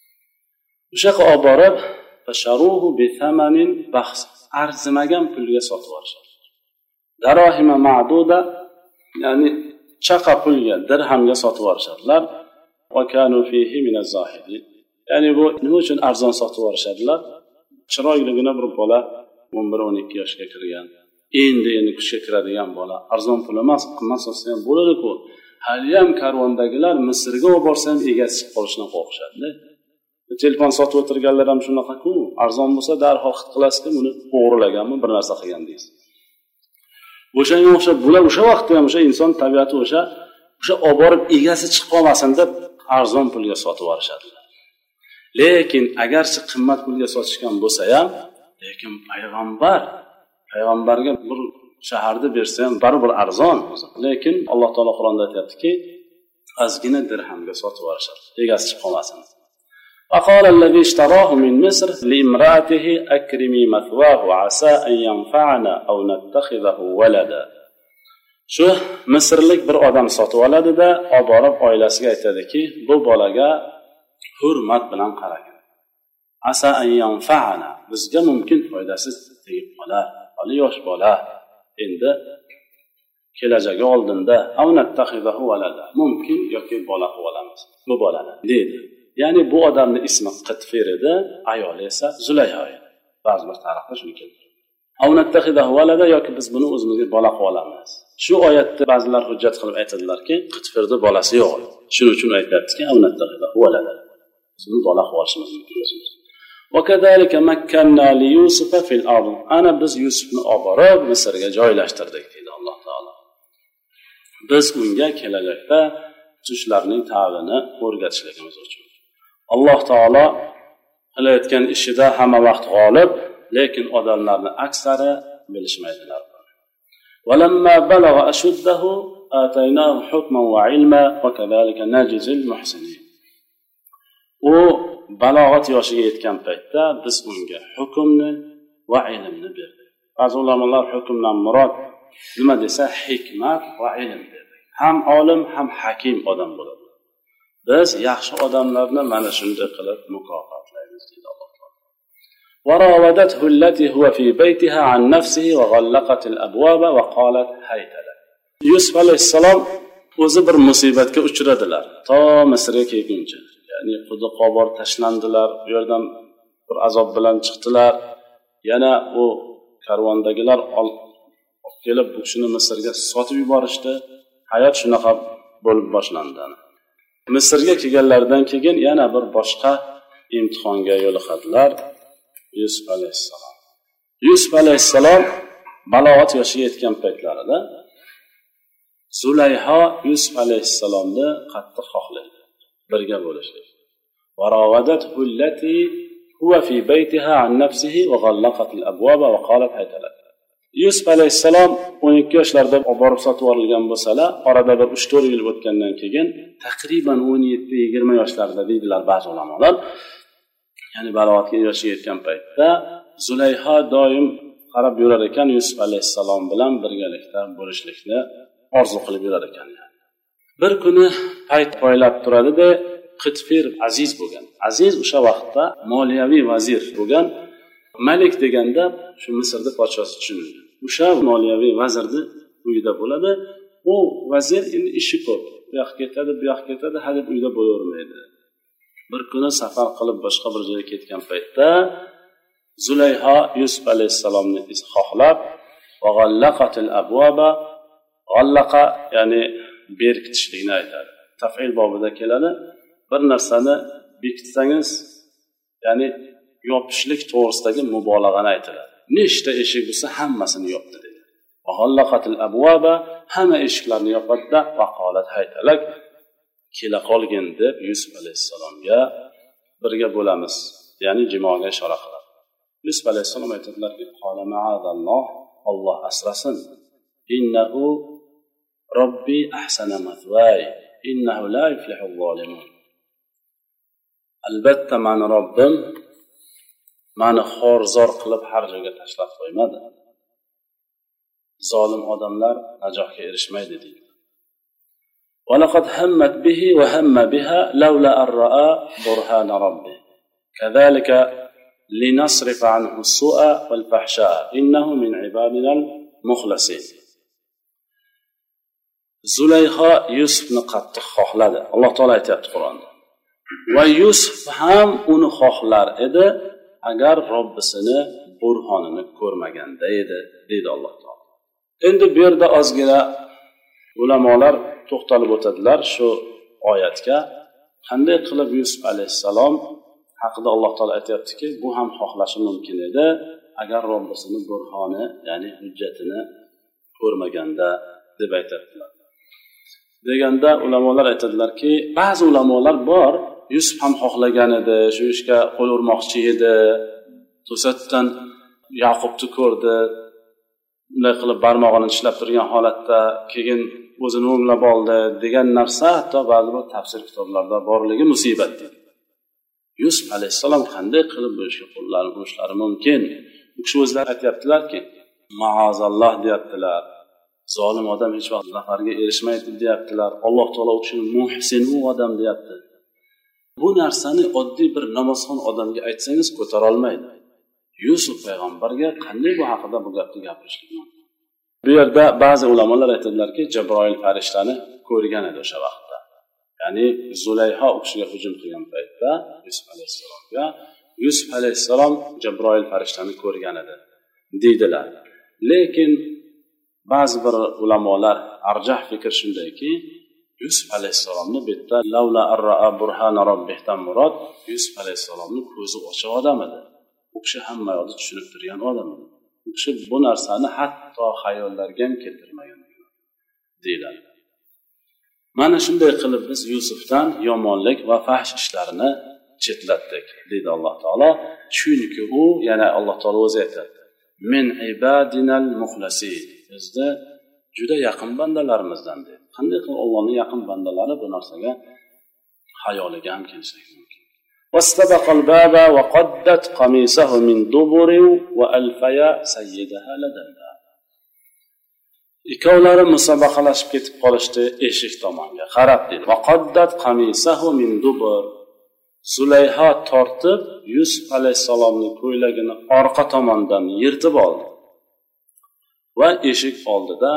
O'sha yoqqa olib borib, fasharuhu bi thamanin bahs, arzimagan pulga sotib yuborishadi. Darahima ma'duda, ya'ni chaqa pulga, dirhamga sotib yuborishadilar. Va kanu fihi min az-zahidin. Ya'ni bu nima uchun arzon sotib yuborishadilar? Chiroyligina bir bola o'n bir o'n ikki yoshga kirgan, endi endi kuchga kiradigan bola, arzon pul emas, qimmat sotsa ham bo'ladi-ku. Hali ham karvondagilar Misrga olib borsa ham egasi chiqib qolishidan qo'rqishadi. Telefon sotib o'tirganlar ham shunaqa-ku, arzon bo'lsa darhol xit qilasizki, buni o'g'irlaganmi, bir narsa qilgan deysiz. O'shanga o'xshab bular o'sha vaqtda ham o'sha inson tabiati o'sha o'sha olib borib egasi chiqib qolmasin deb arzon pulga sotib yuborishadilar. Lekin agarchi qimmat pulga sotishgan bo'lsa ham, lekin payg'ambar payg'ambarga bir shaharda bersa ham baribir arzon. Lekin Alloh taolo Qur'onda aytayaptiki, ozgina dirhamga sotib yuborishadi, egasi chiqib qolmasin. وقال الذي اشتراه من مصر لامرأته أكرمي مثواه عسى أن ينفعنا أو نتخذه ولدا. Shu Misrlik bir odam sotib oladi-da, olib borib oilasiga aytadiki, bu bolaga hurmat bilan qarang. Asa an yanfa'ana, bizga mumkin foydasi tegib qolar. Hali yosh bola, endi kelajagi oldinda aw nattakhidahu walada, mumkin yoki bola qilib olamiz bu bolani dedi. Ya'ni bu odamning ismi Qitfir edi, ayoli esa Zulayho edi. Ba'zi bir tarixda shuni keltiradi. aw nattakhidahu walada yoki biz buni o'zimizga bola qilib olamiz. Shu oyatda ba'zilar hujjat qilib aytadilarki, Qitfirda bolasi yo'q. Shuning uchun aytayaptiki, aw nattakhidahu walada. Buni bola qilib olishimiz mumkin. Wa kadhalika makkanna li Yusufa fil ard. Ana biz Yusufni olib borib Misrga joylashtirdik dedi Alloh taolo. Biz unga kelajakda tushlarning ta'limini o'rgatishligimiz uchun. Alloh taolo qilayotgan ishida hamma vaqt g'olib, lekin odamlarning aksari bilishmaydilar. Walamma balagha ashuddahu ataynahu hukman wa ilma wa kadhalika najzil muhsinin. U balog'at yoshiga yetgan paytda biz unga hukmni va ilmni berdik. Ba'zi ulamolar hukmdan murod nima desa, hikmat va ilm dedi. Ham olim, ham hakim odam bo'ladi. Biz yaxshi odamlarni mana shunday qilib mukofotlaymiz dedi Alloh taolo. وراودته التي هو في بيتها عن نفسه وغلقت الابواب وقالت هيت لك. Yusuf alayhissalom o'zi bir musibatga uchradilar. To Misrga kelguncha, ya'ni quduqqa borib tashlandilar, bu yerdan bir azob bilan chiqdilar. Yana u karvondagilar olib kelib bu kishini Misrga sotib yuborishdi. Hayot shunaqa bo'lib boshlandi. Misrga kelganlaridan keyin yana bir boshqa imtihonga yo'liqadilar. Yusuf alayhissalom. Yusuf alayhissalom balog'at yoshiga yetgan paytlarida Zulayho Yusuf alayhissalomni qattiq xohlaydi, birga bo'lishlik. Varowadathu allati huwa fi baytiha an nafsihi wa ghallaqat al-abwaba wa qalat hayta lak. Yusuf alayhissalom o'n ikki yoshlarda olib borib sotib yuborilgan bo'lsalar, orada bir uch to'rt yil o'tgandan keyin taqriban o'n yetti yigirma yoshlarda deydilar ba'zi ulamolar. Ya'ni balog'atga yoshiga yetgan paytda Zulayho doim qarab yurar ekan, Yusuf alayhissalom bilan birgalikda bo'lishlikni orzu qilib yurar ekan. Bir kuni payt poylab turadi-da, Qitfir aziz bo'lgan. Aziz o'sha vaqtda moliyaviy vazir bo'lgan. Malik deganda shu Misrda podshosi tushunilgan. O'sha moliyaviy vazirni uyida bo'ladi. U vazir endi ishi ko'p. Bu yoqqa ketadi, bu yoqqa ketadi, hadeb uyda bo'lavermaydi. Bir kuni safar qilib boshqa bir joyga ketgan paytda Zulayho Yusuf alayhissalomni xohlab va g'allaqatil abwaba, g'allaqa ya'ni berkitishlikni aytadi. Taf'il bobida keladi. Bir narsani bekitsangiz, ya'ni yopishlik to'g'risidagi mubolag'ani aytiladi. Nechta eshik bo'lsa hammasini yopdi dedi. Va g'allaqatil abwaba, hamma eshiklarni yopadi-da, va qolat haytalak, kela qolgin deb Yusuf alayhissalomga birga bo'lamiz, ya'ni jimoga ishora qiladi. Yusuf alayhissalom aytadilarki, qala ma'azalloh, Alloh asrasin. Innahu robbi ahsana mathway, innahu la yuflihul zolimun. Albatta meni Robbim meni xorzor qilib har joyga tashlab qo'ymadi. Zolim odamlar najotga erishmaydi deydi. وَلَقَدْ هَمَّتْ بِهِ وَهَمَّ بِهَا لَوْلَا أَن رَّأَى بُرْهَانَ رَبِّهِ كَذَلِكَ لِنَصْرِفَ عَنْهُ السُّوءَ وَالْفَحْشَاءَ إِنَّهُ مِنْ عِبَادِنَا الْمُخْلَصِينَ. Zulayho Yusufni qattiq xohladi. Alloh taolo aytayapti Qur'onda. Va Yusuf ham uni xohlar edi agar Robbisini burhonini ko'rmaganda edi, deydi Alloh taolo. Endi bu yerda ozgina ulamolar to'xtalib o'tadilar shu oyatga. Qanday qilib Yusuf alayhissalom haqida Alloh taolo aytayaptiki, bu ham xohlashi mumkin edi agar Robbisini burhoni, ya'ni hujjatini ko'rmaganda deb aytadilar. Deganda ulamolar aytadilarki, ba'zi ulamolar bor, Yusuf ham xohlagan edi, shu ishga qo'l urmoqchi edi. To'satdan Yaqubni ko'rdi, unday qilib barmog'ini tishlab turgan holatda keyin o'zini o'nglab oldi degan narsa hatto ba'zi bir tafsir kitoblarida borligi musibat. Yusuf alayhissalom qanday qilib bu ishga qo'llarini urishlari mumkin? Bu kishi o'zlari aytayaptilarki, ma'azalloh deyaptilar. Zolim odam hech vaqt zafarga erishmaydi deyaptilar. Alloh taolo u kishini muhsin u odam deyapti. Bu narsani oddiy bir namozxon odamga aytsangiz ko'tara olmaydi. Yusuf payg'ambarga qanday bu haqida bu gapni gapirishlik mumkin? Bu yerda ba'zi ulamolar aytadilarki, Jabroil farishtani ko'rgan edi o'sha vaqtda. Ya'ni Zulayho u kishiga hujum qilgan paytda Yusuf alayhissalomga Yusuf alayhissalom Jabroil farishtani ko'rgan edi. deydilar. Lekin ba'zi bir ulamolar arjah fikr shundayki, Yusuf alayhissalomni bu yerda lavla arra burhana robbihdan murod Yusuf alayhissalomni ko'zi ochiq odam edi. U kishi hamma yoqni tushunib turgan odam edi. U kishi bu narsani hatto xayollarga ham keltirmagan deyiladi. Mana shunday qilib biz Yusufdan yomonlik va fahsh ishlarini chetlatdik deydi Alloh taolo. Chunki u, yana Alloh taolo o'zi aytadi: "Min ibadinal muxlasin." Bizda juda yaqin bandalarimizdan deydi. Qanday qilib Allohning yaqin bandalari bu narsaga hayoliga ham kelsa mumkin. Wastabaqal baba wa qaddat qamisahu min dubur wa alfaya sayyidaha ladalla. Ikkovlari musobaqalashib ketib qolishdi eshik tomonga qarab dedi. Va qaddat qamisahu min dubur. Zulayho tortib Yusuf alayhisalomning ko'ylagini orqa tomondan yirtib oldi va eshik oldida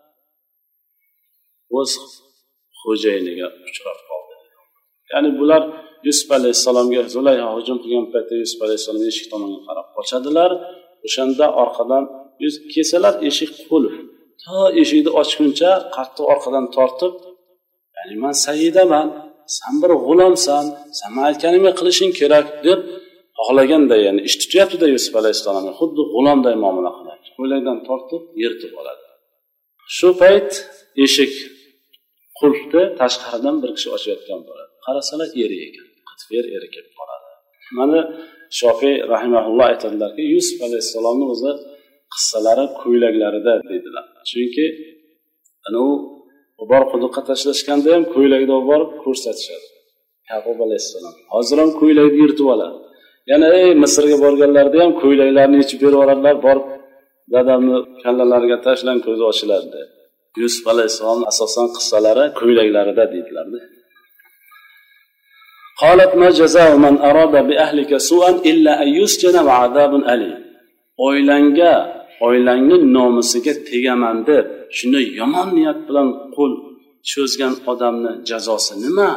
o'z xo'jayiniga uchrab qoldi. Ya'ni bular Yusuf alayhisalomga Zulayho hujum qilgan paytda Yusuf alayhisalom eshik tomonga qarab qochadilar. O'shanda orqadan yuz kesalar, eshik qulf. To eshikni ochguncha qattiq orqadan tortib, ya'ni men sayyidaman, sen bir g'ulomsan, sen aytganimga qilishing kerak deb xohlaganda, ya'ni ish tutyapti-da Yusuf alayhissalomga, xuddi g'ulomday muomala qiladi. Qo'lakdan tortib yirtib oladi. Shu payt eshik qulfni tashqaridan bir kishi ochayotgan bo'ladi. Qarasalar eri ekan, qitfer eri kelib qoladi. Mana Shofiy rahimahulloh aytadilarki, Yusuf alayhissalomning o'zi qissalari ko'ylaklarida deydilar. Chunki ana u bor quduqqa tashlashganda ham ko'ylakda borib ko'rsatishadi. Yaqub alayhissalom hozir ham ko'ylakni yirtib oladi. Yana ey Misrga borganlarda ham ko'ylaklarni yechib berib yuboradilar, borib dadamni kallalariga tashlang ko'zi ochiladi. Yusuf alayhissalom asosan qissalari ko'ylaklarida deydilar-da. Qalat ma jazaa'u man arada bi ahlika su'an illa an yusjana wa 'adabun alim. Oilangga, oilangning nomusiga tegaman deb shuni yomon niyat bilan qo'l cho'zgan odamni jazosi nima?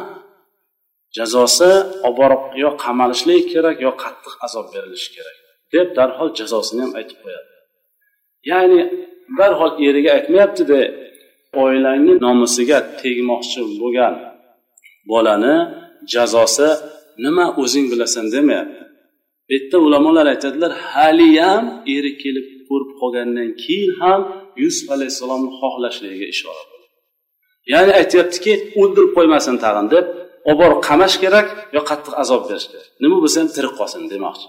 Jazosi oborib yo qamalishlik kerak, yo qattiq azob berilishi kerak deb darhol jazosini ham aytib qo'yadi. Ya'ni darhol eriga aytmayapti-da, oilangning nomusiga tegmoqchi bo'lgan bolani jazosi nima o'zing bilasan demayapti. Bu yerda ulamolar aytadilar, haliyam eri kelib ko'rib qolgandan keyin ham Yusuf alayhissalomni xohlashligiga ishora bo'ladi. Ya'ni aytayaptiki, o'ldirib qo'ymasin tag'in deb, obor qamash kerak yo qattiq azob berish kerak. Nima bo'lsa ham tirik qolsin demoqchi.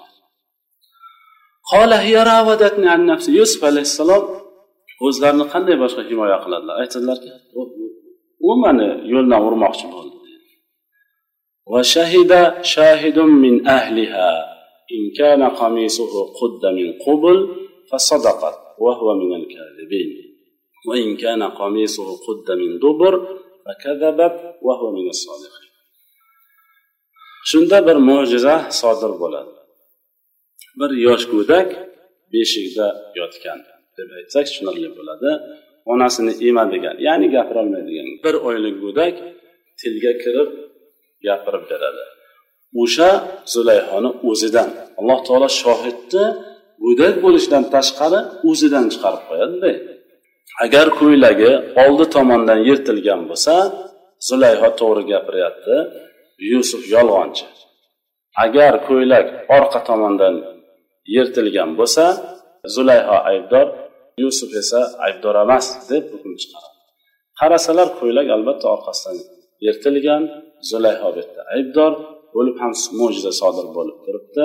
Qala hiya rawadatni an nafsi. Yusuf alayhissalom o'zlarini qanday boshqa himoya qiladilar? Aytadilarki, u meni yo'ldan urmoqchi bo'ldi. Va shahida shahidun min ahliha in kana qamisuhu qudda min qubul fasadaqat wa huwa min al-kadhibin wa in kana qamisuhu qudda min dubur fakadhabat wa huwa min as-sadiqin. Shunda bir mo'jiza sodir bo'ladi. Bir yosh go'dak beshikda yotgan deb aytsak tushunarli bo'ladi. Onasini emadigan, ya'ni gapira olmaydigan bir oylik go'dak tilga kirib gapirib beradi. O'sha Zulayhoni o'zidan Alloh taolo shohidni go'dak bo'lishidan tashqari o'zidan chiqarib qo'yadi. Agar ko'ylagi oldi tomondan yirtilgan bo'lsa, Zulayho to'g'ri gapiryapti, Yusuf yolg'onchi. Agar ko'ylak orqa tomondan yirtilgan bo'lsa, Zulayho aybdor, Yusuf esa aybdor emas deb hukm chiqaradi. Qarasalar ko'ylak albatta orqasidan yirtilgan, Zulayho bitta aybdor bo'lib ham mo'jiza sodir bo'lib turibdi.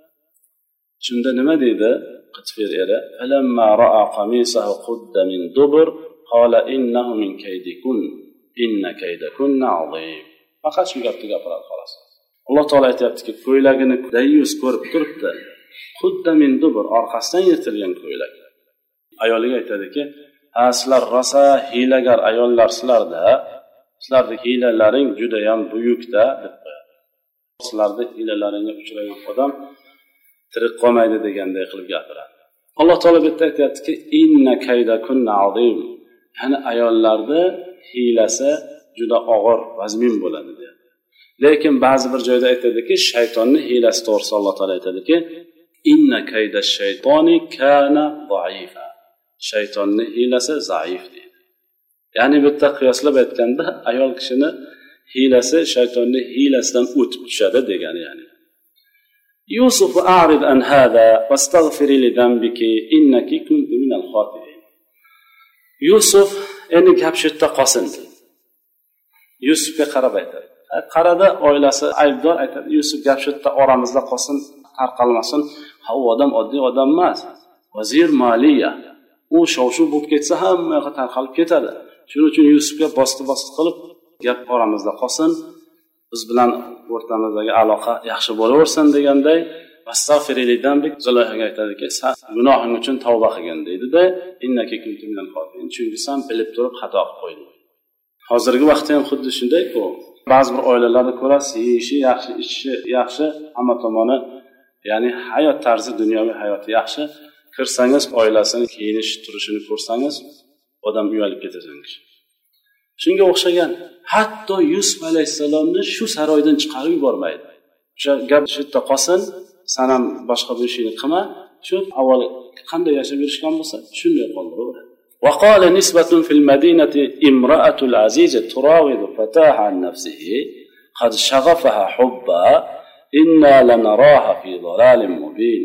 Shunda nima deydi Qitfir eri? Alamma ra'a qamisahu qudda min dubur qala innahu min kaydikun inna kaydakunna azim. Faqat shu gapni gapiradi xolos. Alloh taolo aytayaptiki, ko'ylagini dayus ko'rib turibdi. Qudda min dubur, orqasidan yirtilgan ko'ylak. Ayoliga aytadiki, "Ha, sizlar rosa hiylagar ayollar sizlarda, sizlarning hiylalaring juda ham buyukda" deb qo'yadi. Sizlarning hiylalaringga uchragan odam tirik qolmaydi deganday qilib gapiradi. Alloh taolo bu yerda aytayaptiki, "Inna kaydakunna azim." Ya'ni ayollarda hiylasi juda og'ir, vazmin bo'ladi deydi. Lekin ba'zi bir joyda aytadiki, shaytonning hiylasi to'g'risida Alloh taolo aytadiki, inna kayda shaytoni kana za'ifa, shaytonning hiylasi zaif deydi. ya'ni bu yerda qiyoslab aytganda ayol kishini hiylasi shaytonning hiylasidan o'tib tushadi degani. Ya'ni Yusuf a'rid an hada wastaghfiri li dhanbiki innaki kunti minal khati'in. Yusuf endi gap shu yerda qolsin. Yusufga qarab aytadi. Qarada oilasi aybdor, aytadi Yusuf gap shu yerda oramizda qolsin, tarqalmasin. Ha, u odam oddiy odam emas. Vazir maliya. U shov-shuv bo'lib ketsa hamma yoqqa tarqalib ketadi. Shuning uchun Yusufga bosti-bosti qilib gap oramizda qolsin, biz bilan o'rtamizdagi aloqa yaxshi bo'laversin deganday astag'firilidan Zulayhaga aytadiki, sen gunohing uchun tavba qilgin deydi-da, innaki kunti minal xotin, chunki sen bilib turib xato qilib qo'yding. Hozirgi vaqtda ham xuddi shunday-ku. Ba'zi bir oilalarda ko'rasiz, yeyishi yaxshi, ichishi yaxshi, hamma tomoni, ya'ni hayot tarzi, dunyoviy hayoti yaxshi. Kirsangiz oilasini kiyinish turishini ko'rsangiz, odam uyalib ketasiz. Shunga o'xshagan, hatto Yusuf alayhisalomni shu saroydan chiqarib yubormaydi. O'sha gap shu yerda qolsin, sen ham boshqa bir ishni qilma, shu avval qanday yashab yurishgan bo'lsa, shunday qoldir. وقال نسبة في المدينة امرأة العزيز تراود فتاها عن نفسه قد شغفها حبا إنا لنراها في ضلال مبين.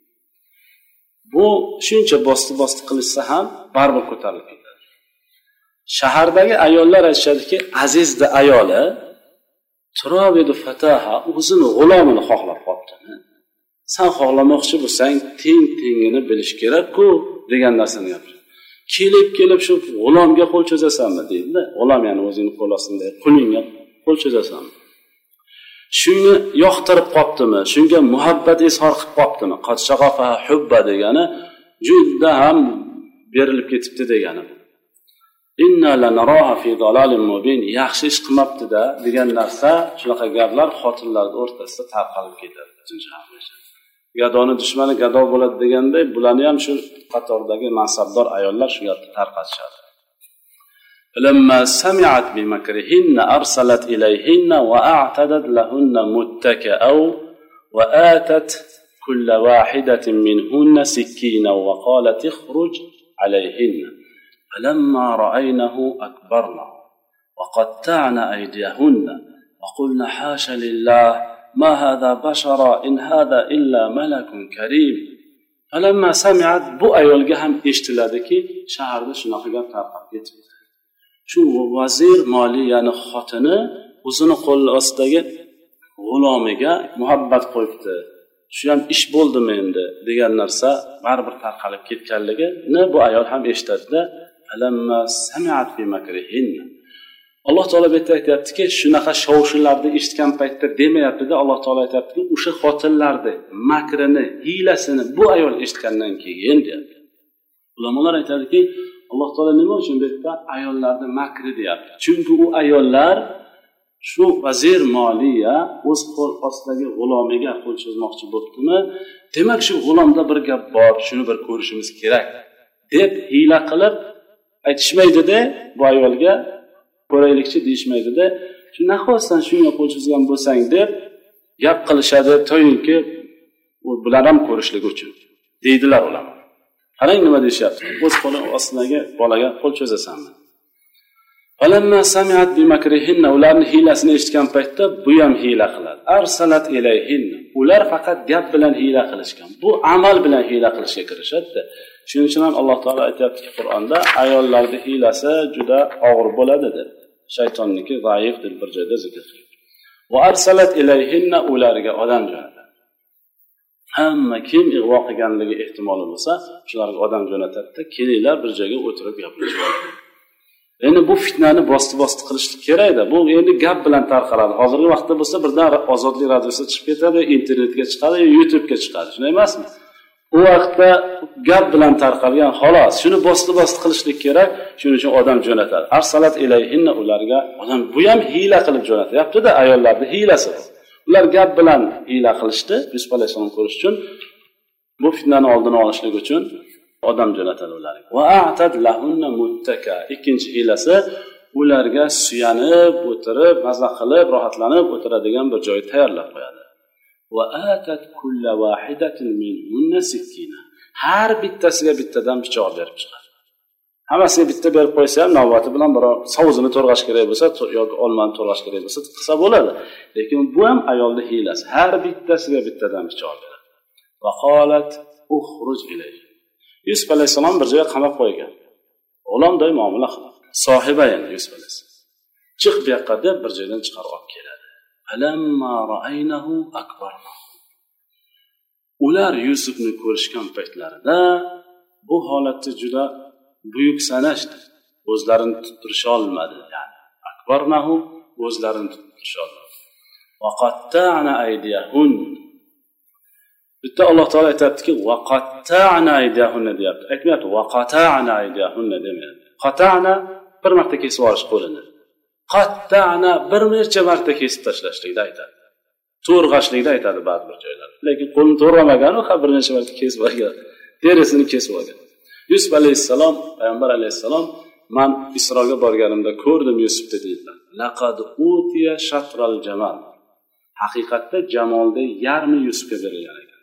Bu shuncha bosti-bosti qilishsa ham baribir ko'tarilib ketadi. Shahardagi ayollar aytishadiki, Azizda ayoli turavidu fataha, o'zini g'ulomini xohlab qopti. Sen xohlamoqchi bo'lsang, teng-tengini bilish kerak-ku degan narsani gapiradi. Kelib-kelib shu g'ulomga qo'l cho'zasanmi deydi-da. G'ulom ya'ni o'zini qo'l ostida qulingga qo'l cho'zasanmi? Shuni yoqtirib qoptimi? Shunga muhabbat izhor qilib qoptimi? Qad shaghafa hubba degani juda ham berilib ketibdi degani. Inna lanaraha fi dalalin mubin, yaxshi ish qilmabdi-da degan narsa, shunaqa gaplar xotinlarning o'rtasida tarqalib ketadi. Gadoni dushmani gado bo'ladi deganday, bularni ham shu qatordagi mansabdor ayollar shu yerda tarqatishadi. Lamma sami'at bi makrihinna arsalat ilayhinna wa a'tadat lahunna muttaka'aw wa atat kull wahidatin minhunna sikkina wa qalat ikhruj alayhinna. فلما رأينه أكبرنا وقطعنا أيديهن وقلنا حاش لله ما هذا بشرا إن هذا إلا ملك كريم. فلما سمعت bu ayolga ham eshitiladiki, shaharda shunaqa gap tarqab ketdi. Shu vazir moliyani xotini o'zini qo'l ostidagi g'ulomiga muhabbat qo'yibdi. Shu ham ish bo'ldimi endi degan narsa baribir tarqalib ketganligini bu ayol ham eshitadi-da. Alamma sami'at bi makrihinna. Alloh taolo bu yerda aytayaptiki, shunaqa shov-shuvlarni eshitgan paytda demayapti-da, Alloh taolo aytayaptiki, o'sha xotinlarni makrini, hiylasini bu ayol eshitgandan keyin deyapti. Ulamolar aytadiki, Alloh taolo nima uchun bu yerda ayollarni makri deyapti? Chunki u ayollar shu vazir moliya o'z qo'l ostidagi g'ulomiga qo'l cho'zmoqchi bo'libdimi? Demak, shu g'ulomda bir gap bor, shuni bir ko'rishimiz kerak deb hiyla qilib aytishmaydi-da, bu ayolga ko'raylikchi deyishmaydi-da. Shu nahotsan shunga qo'l cho'zgan bo'lsang deb gap qilishadi, to'yinki u bilan ham ko'rishlik uchun deydilar ular. Qarang nima deyishyapti. O'z qo'li ostidagi bolaga qo'l cho'zasanmi? Falamma sami'at bi makrihinna, ularning hiylasini eshitgan paytda bu ham hiyla qiladi. Arsalat ilayhinna. Ular faqat gap bilan hiyla qilishgan. Bu amal bilan hiyla qilishga kirishadi. Shuning uchun ham Alloh taolo aytayapti Qur'onda, ayollarning hiylasi juda og'ir bo'ladi deb. Shaytonniki zaif deb bir joyda zikr qilgan. Va arsalat ilayhinna, ularga odam jo'natadi. Hamma kim ig'vo qilganligi ehtimoli bo'lsa, shularga odam jo'natadi, kelinglar bir joyga o'tirib gaplashamiz. Endi bu fitnani bosti-bosti qilishlik kerak-da. Bu endi gap bilan tarqaladi. Hozirgi vaqtda bo'lsa birdan Ozodlik radiosida chiqib ketadi, internetga chiqadi, YouTube'ga chiqadi. Shunday emasmi? U vaqtda gap bilan tarqalgan, xolos. Shuni bosti-bosti qilishlik kerak. Shuning uchun odam jo'natadi. Arsalat ilayhinna, ularga odam bu ham hiyla qilib jo'natyapti-da, ayollarning hiylasi. Ular gap bilan hiyla qilishdi, Yusuf alayhisalom ko'rish uchun, bu fitnani oldini olishlik uchun odam jo'natadi ularga. Va a'tad lahunna muttaka. Ikkinchi hiylasi, ularga suyanib, o'tirib, maza qilib, rohatlanib o'tiradigan bir joy tayyorlab qo'yadi. va atat kulla wahidatin minhunna sikkina. Har bittasiga bittadan pichoq berib chiqar. Hammasiga bitta berib qo'ysa ham navbati bilan biror savuzini to'rg'ash kerak bo'lsa yoki olmani to'rg'ash kerak bo'lsa qilsa bo'ladi. Lekin bu ham ayolning hiylasi. Har bittasiga bittadan pichoq beradi. Va qalat ukhruj ilayhi. Yusuf alayhisalom bir joyga qamab qo'ygan. O'g'lomday muomala qiladi. Sohiba endi Yusuf alayhisalom. Chiq bu yoqqa deb bir joydan chiqarib olib keladi. Alamma ra'aynahu akbarna. Ular Yusufni ko'rishgan paytlarida bu holatda juda buyuk sanashdi. O'zlarini tuttirisha olmadi. Ya'ni akbarnahu o'zlarini tuttirisha olmadi. Va qatta'na aydiyahun. Bitta Alloh taolo aytadiki, va qatta'na aydiyahun deyapti. Aytmayapti, va qata'na aydiyahun demayapti. Qata'na bir marta kesib olish qo'lini. Qatta'na bir necha marta kesib tashlashlikda aytadi. To'rg'ashlikda aytadi ba'zi bir joylar. Lekin qo'lni to'rg'amagan, u bir necha marta kesib olgan. Terisini kesib olgan. Yusuf alayhissalom, payg'ambar alayhissalom, men Isroga borganimda ko'rdim Yusufni deydilar. Laqad utiya shatral jamal. Haqiqatda jamolda yarmi Yusufga berilgan ekan.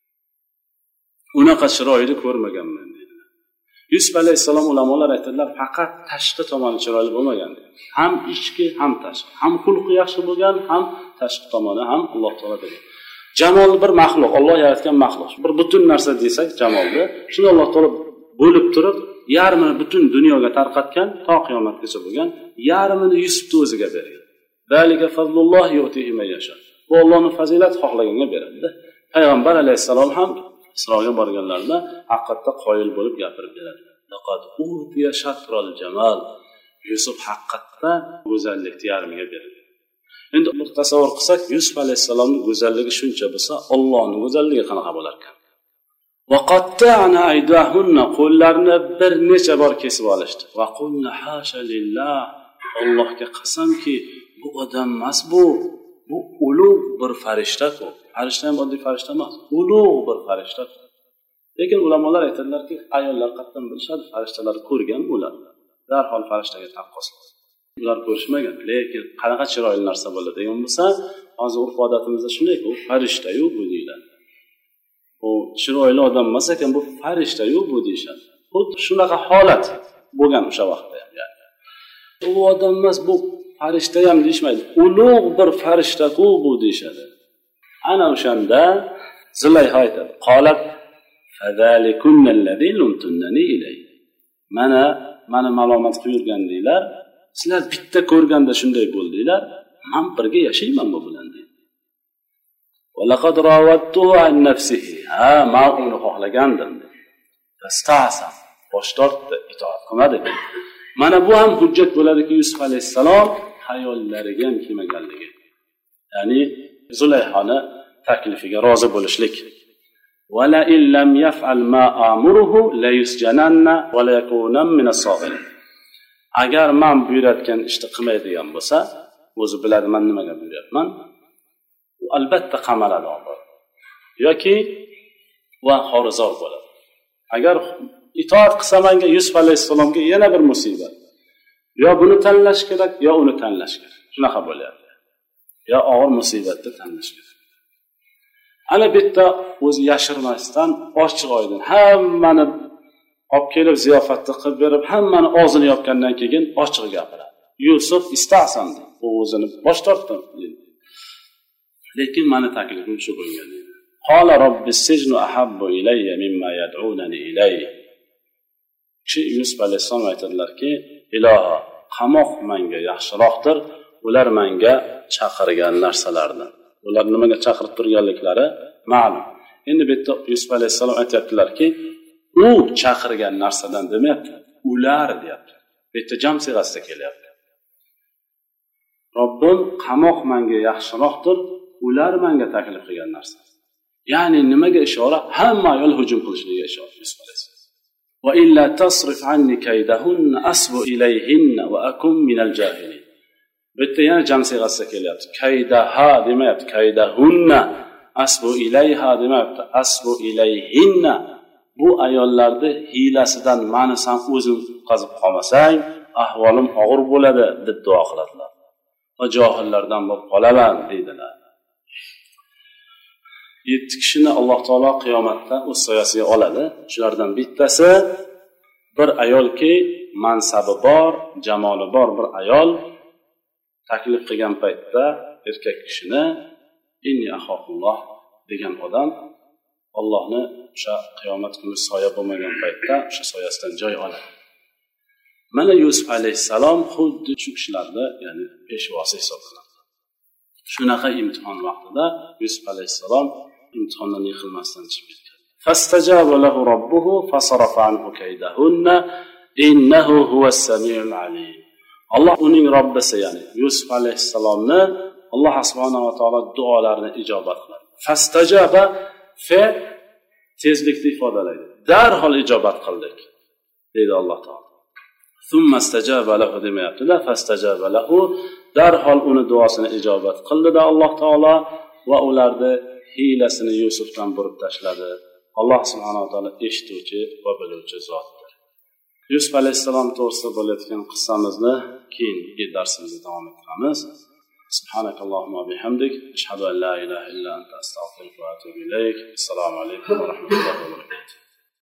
Unaqa chiroyli ko'rmaganman dedilar. Yusuf alayhissalom ulamolar aytadilar, faqat tashqi tomoni chiroyli bo'lmagan. Ham ichki, ham tashqi. Ham xulqi yaxshi bo'lgan, ham tashqi tomoni ham Alloh taolo bergan. Jamol bir maxluq, Alloh yaratgan maxluq. Bir butun narsa desak jamolni, shuni Alloh taolo bo'lib turib, yarmini butun dunyoga tarqatgan, to qiyomatgacha bo'lgan, yarmini Yusufni o'ziga bergan. Zalika fazlulloh yu'tihi man yasha. Bu Allohning fazilati xohlaganga beradi. Payg'ambar alayhissalom ham Isroga borganlarida haqiqatda qoyil bo'lib gapirib beradi. Laqad utiya shatral jamal. Yusuf haqiqatda go'zallikni yarmiga berildi. Endi bir tasavvur qilsak, Yusuf alayhissalomning go'zalligi shuncha bo'lsa, Allohning go'zalligi qanaqa bo'lar ekan? Va qatta'na aydahunna, qo'llarini bir necha bor kesib olishdi. Va qulna hasha lillah. Allohga qasamki, bu odam emas bu. Bu ulug' bir farishta-ku. Farishta ham oddiy farishta emas, ulug' bir farishta. Lekin ulamolar aytadilarki, ayollar qatdan bilishadi, farishtalarni ko'rgan ular. Darhol farishtaga taqqos. Ular ko'rishmagan, lekin qanaqa chiroyli narsa bo'ladi degan bo'lsa, hozir urf odatimizda shunday-ku, farishta-yu bu deyiladi. U chiroyli odam emas ekan, bu farishta-yu bu deyshadi. Xuddi shunaqa holat bo'lgan o'sha vaqtda ham, ya'ni. U odam emas, bu farishta ham deyshmaydi. Ulug' bir farishta-ku bu deyshadi. Ana o'shanda Zulayha aytadi: "Qolat fazalikunna allazi lumtunnani ilay." Mana meni malomat qilgan deylar. Sizlar bitta ko'rganda shunday bo'ldinglar, men birga yashayman bu bilan dedi. Va laqad rawattuhu an nafsihi. Ha, men uni xohlagandim. Fasta'sa, bosh tortdi, itoat qilmadi. Mana bu ham hujjat bo'ladiki, Yusuf alayhissalom hayollariga ham kelmaganligi. Ya'ni Zulayhani taklifiga rozi bo'lishlik. Va la illam yaf'al ma amuruhu la yusjananna va la yakunam min as-saghirin. Agar men buyuratgan ishni qilmaydigan bo'lsa, o'zi biladi men nimaga buyuryapman. U albatta qamaladi oxir. Yoki va xorizor bo'ladi. Agar itoat qilsa menga Yusuf alayhissalomga yana bir musibat. Yo buni tanlash kerak, yo uni tanlash kerak. Shunaqa bo'lyapti. Yo og'ir musibatni tanlash kerak. Ana bitta o'zi yashirmasdan ochiq oydin hammani olib kelib ziyofatni qilib berib, hammani og'zini yopgandan keyin ochiq gapiradi. Yusuf istasan dedi. U o'zini bosh tortdi. Lekin meni taklifim shu bo'lgan edi. Qala robbis sijnu ahabbu ilayya mimma yad'unani ilayhi. Chi Yusuf alayhisalom aytadilarki, iloho, qamoq menga yaxshiroqdir, ular menga chaqirgan narsalardan. Ular nimaga chaqirib turganliklari ma'lum. Endi bu yerda Yusuf alayhisalom aytayaptilarki, u chaqirgan narsadan demayapti, ular deyapti. Bu yerda jam siyg'asida kelyapti. Robbim qamoq menga yaxshiroqdir, ular menga taklif qilgan narsa. Ya'ni nimaga ishora? Hamma ayol hujum qilishiga ishora Yusuf alayhisalom. Va illa tasrif anni kaydahunna asbu ilayhinna va akum minal jahilin. Bitta yana jam siyg'asida kelyapti. Kaydaha demayapti, kaydahunna. Asbu ilayha demayapti, asbu ilayhinna. Bu ayollarni hiylasidan meni sen o'zing qazib qolmasang, ahvolim og'ir bo'ladi deb duo qiladilar. Va johillardan bo'lib qolaman deydilar. yetti kishini alloh taolo qiyomatda o'z soyasiga oladi. Shulardan bittasi bir ayolki mansabi bor, jamoli bor bir ayol taklif qilgan paytda erkak kishini inni axofulloh degan odam Allohni o'sha qiyomat kuni soya bo'lmagan paytda o'sha soyasidan joy oladi. Mana Yusuf alayhissalom xuddi shu kishilarda, ya'ni peshvosi hisoblanadi. Shunaqa imtihon vaqtida Yusuf alayhissalom imtihondan yiqilmasdan chiqib ketdi. Fastajaba lahu robbuhu fasarafa anhu kaydahunna innahu huwas samiul alim. Alloh uning Robbisi, ya'ni Yusuf alayhissalomni Alloh subhanahu va taolo duolarini ijobat qiladi. Fastajaba fe tezlikni ifodalaydi. Darhol ijobat qildik deydi Alloh taolo. Thumma istajaba lahu demayapti-da, fastajaba lahu, darhol uni duosini ijobat qildi-da Alloh taolo va ularni hiylasini Yusufdan burib tashladi. Alloh subhanahu va taolo eshituvchi va biluvchi zotdir. Yusuf alayhissalom to'g'risida bo'layotgan qissamizni keyingi darsimizda davom ettiramiz. Subhanakallohumma bihamdik, ashhadu an la ilaha illa anta astaghfiruka va atubu ilayk. Assalomu alaykum va rahmatullohi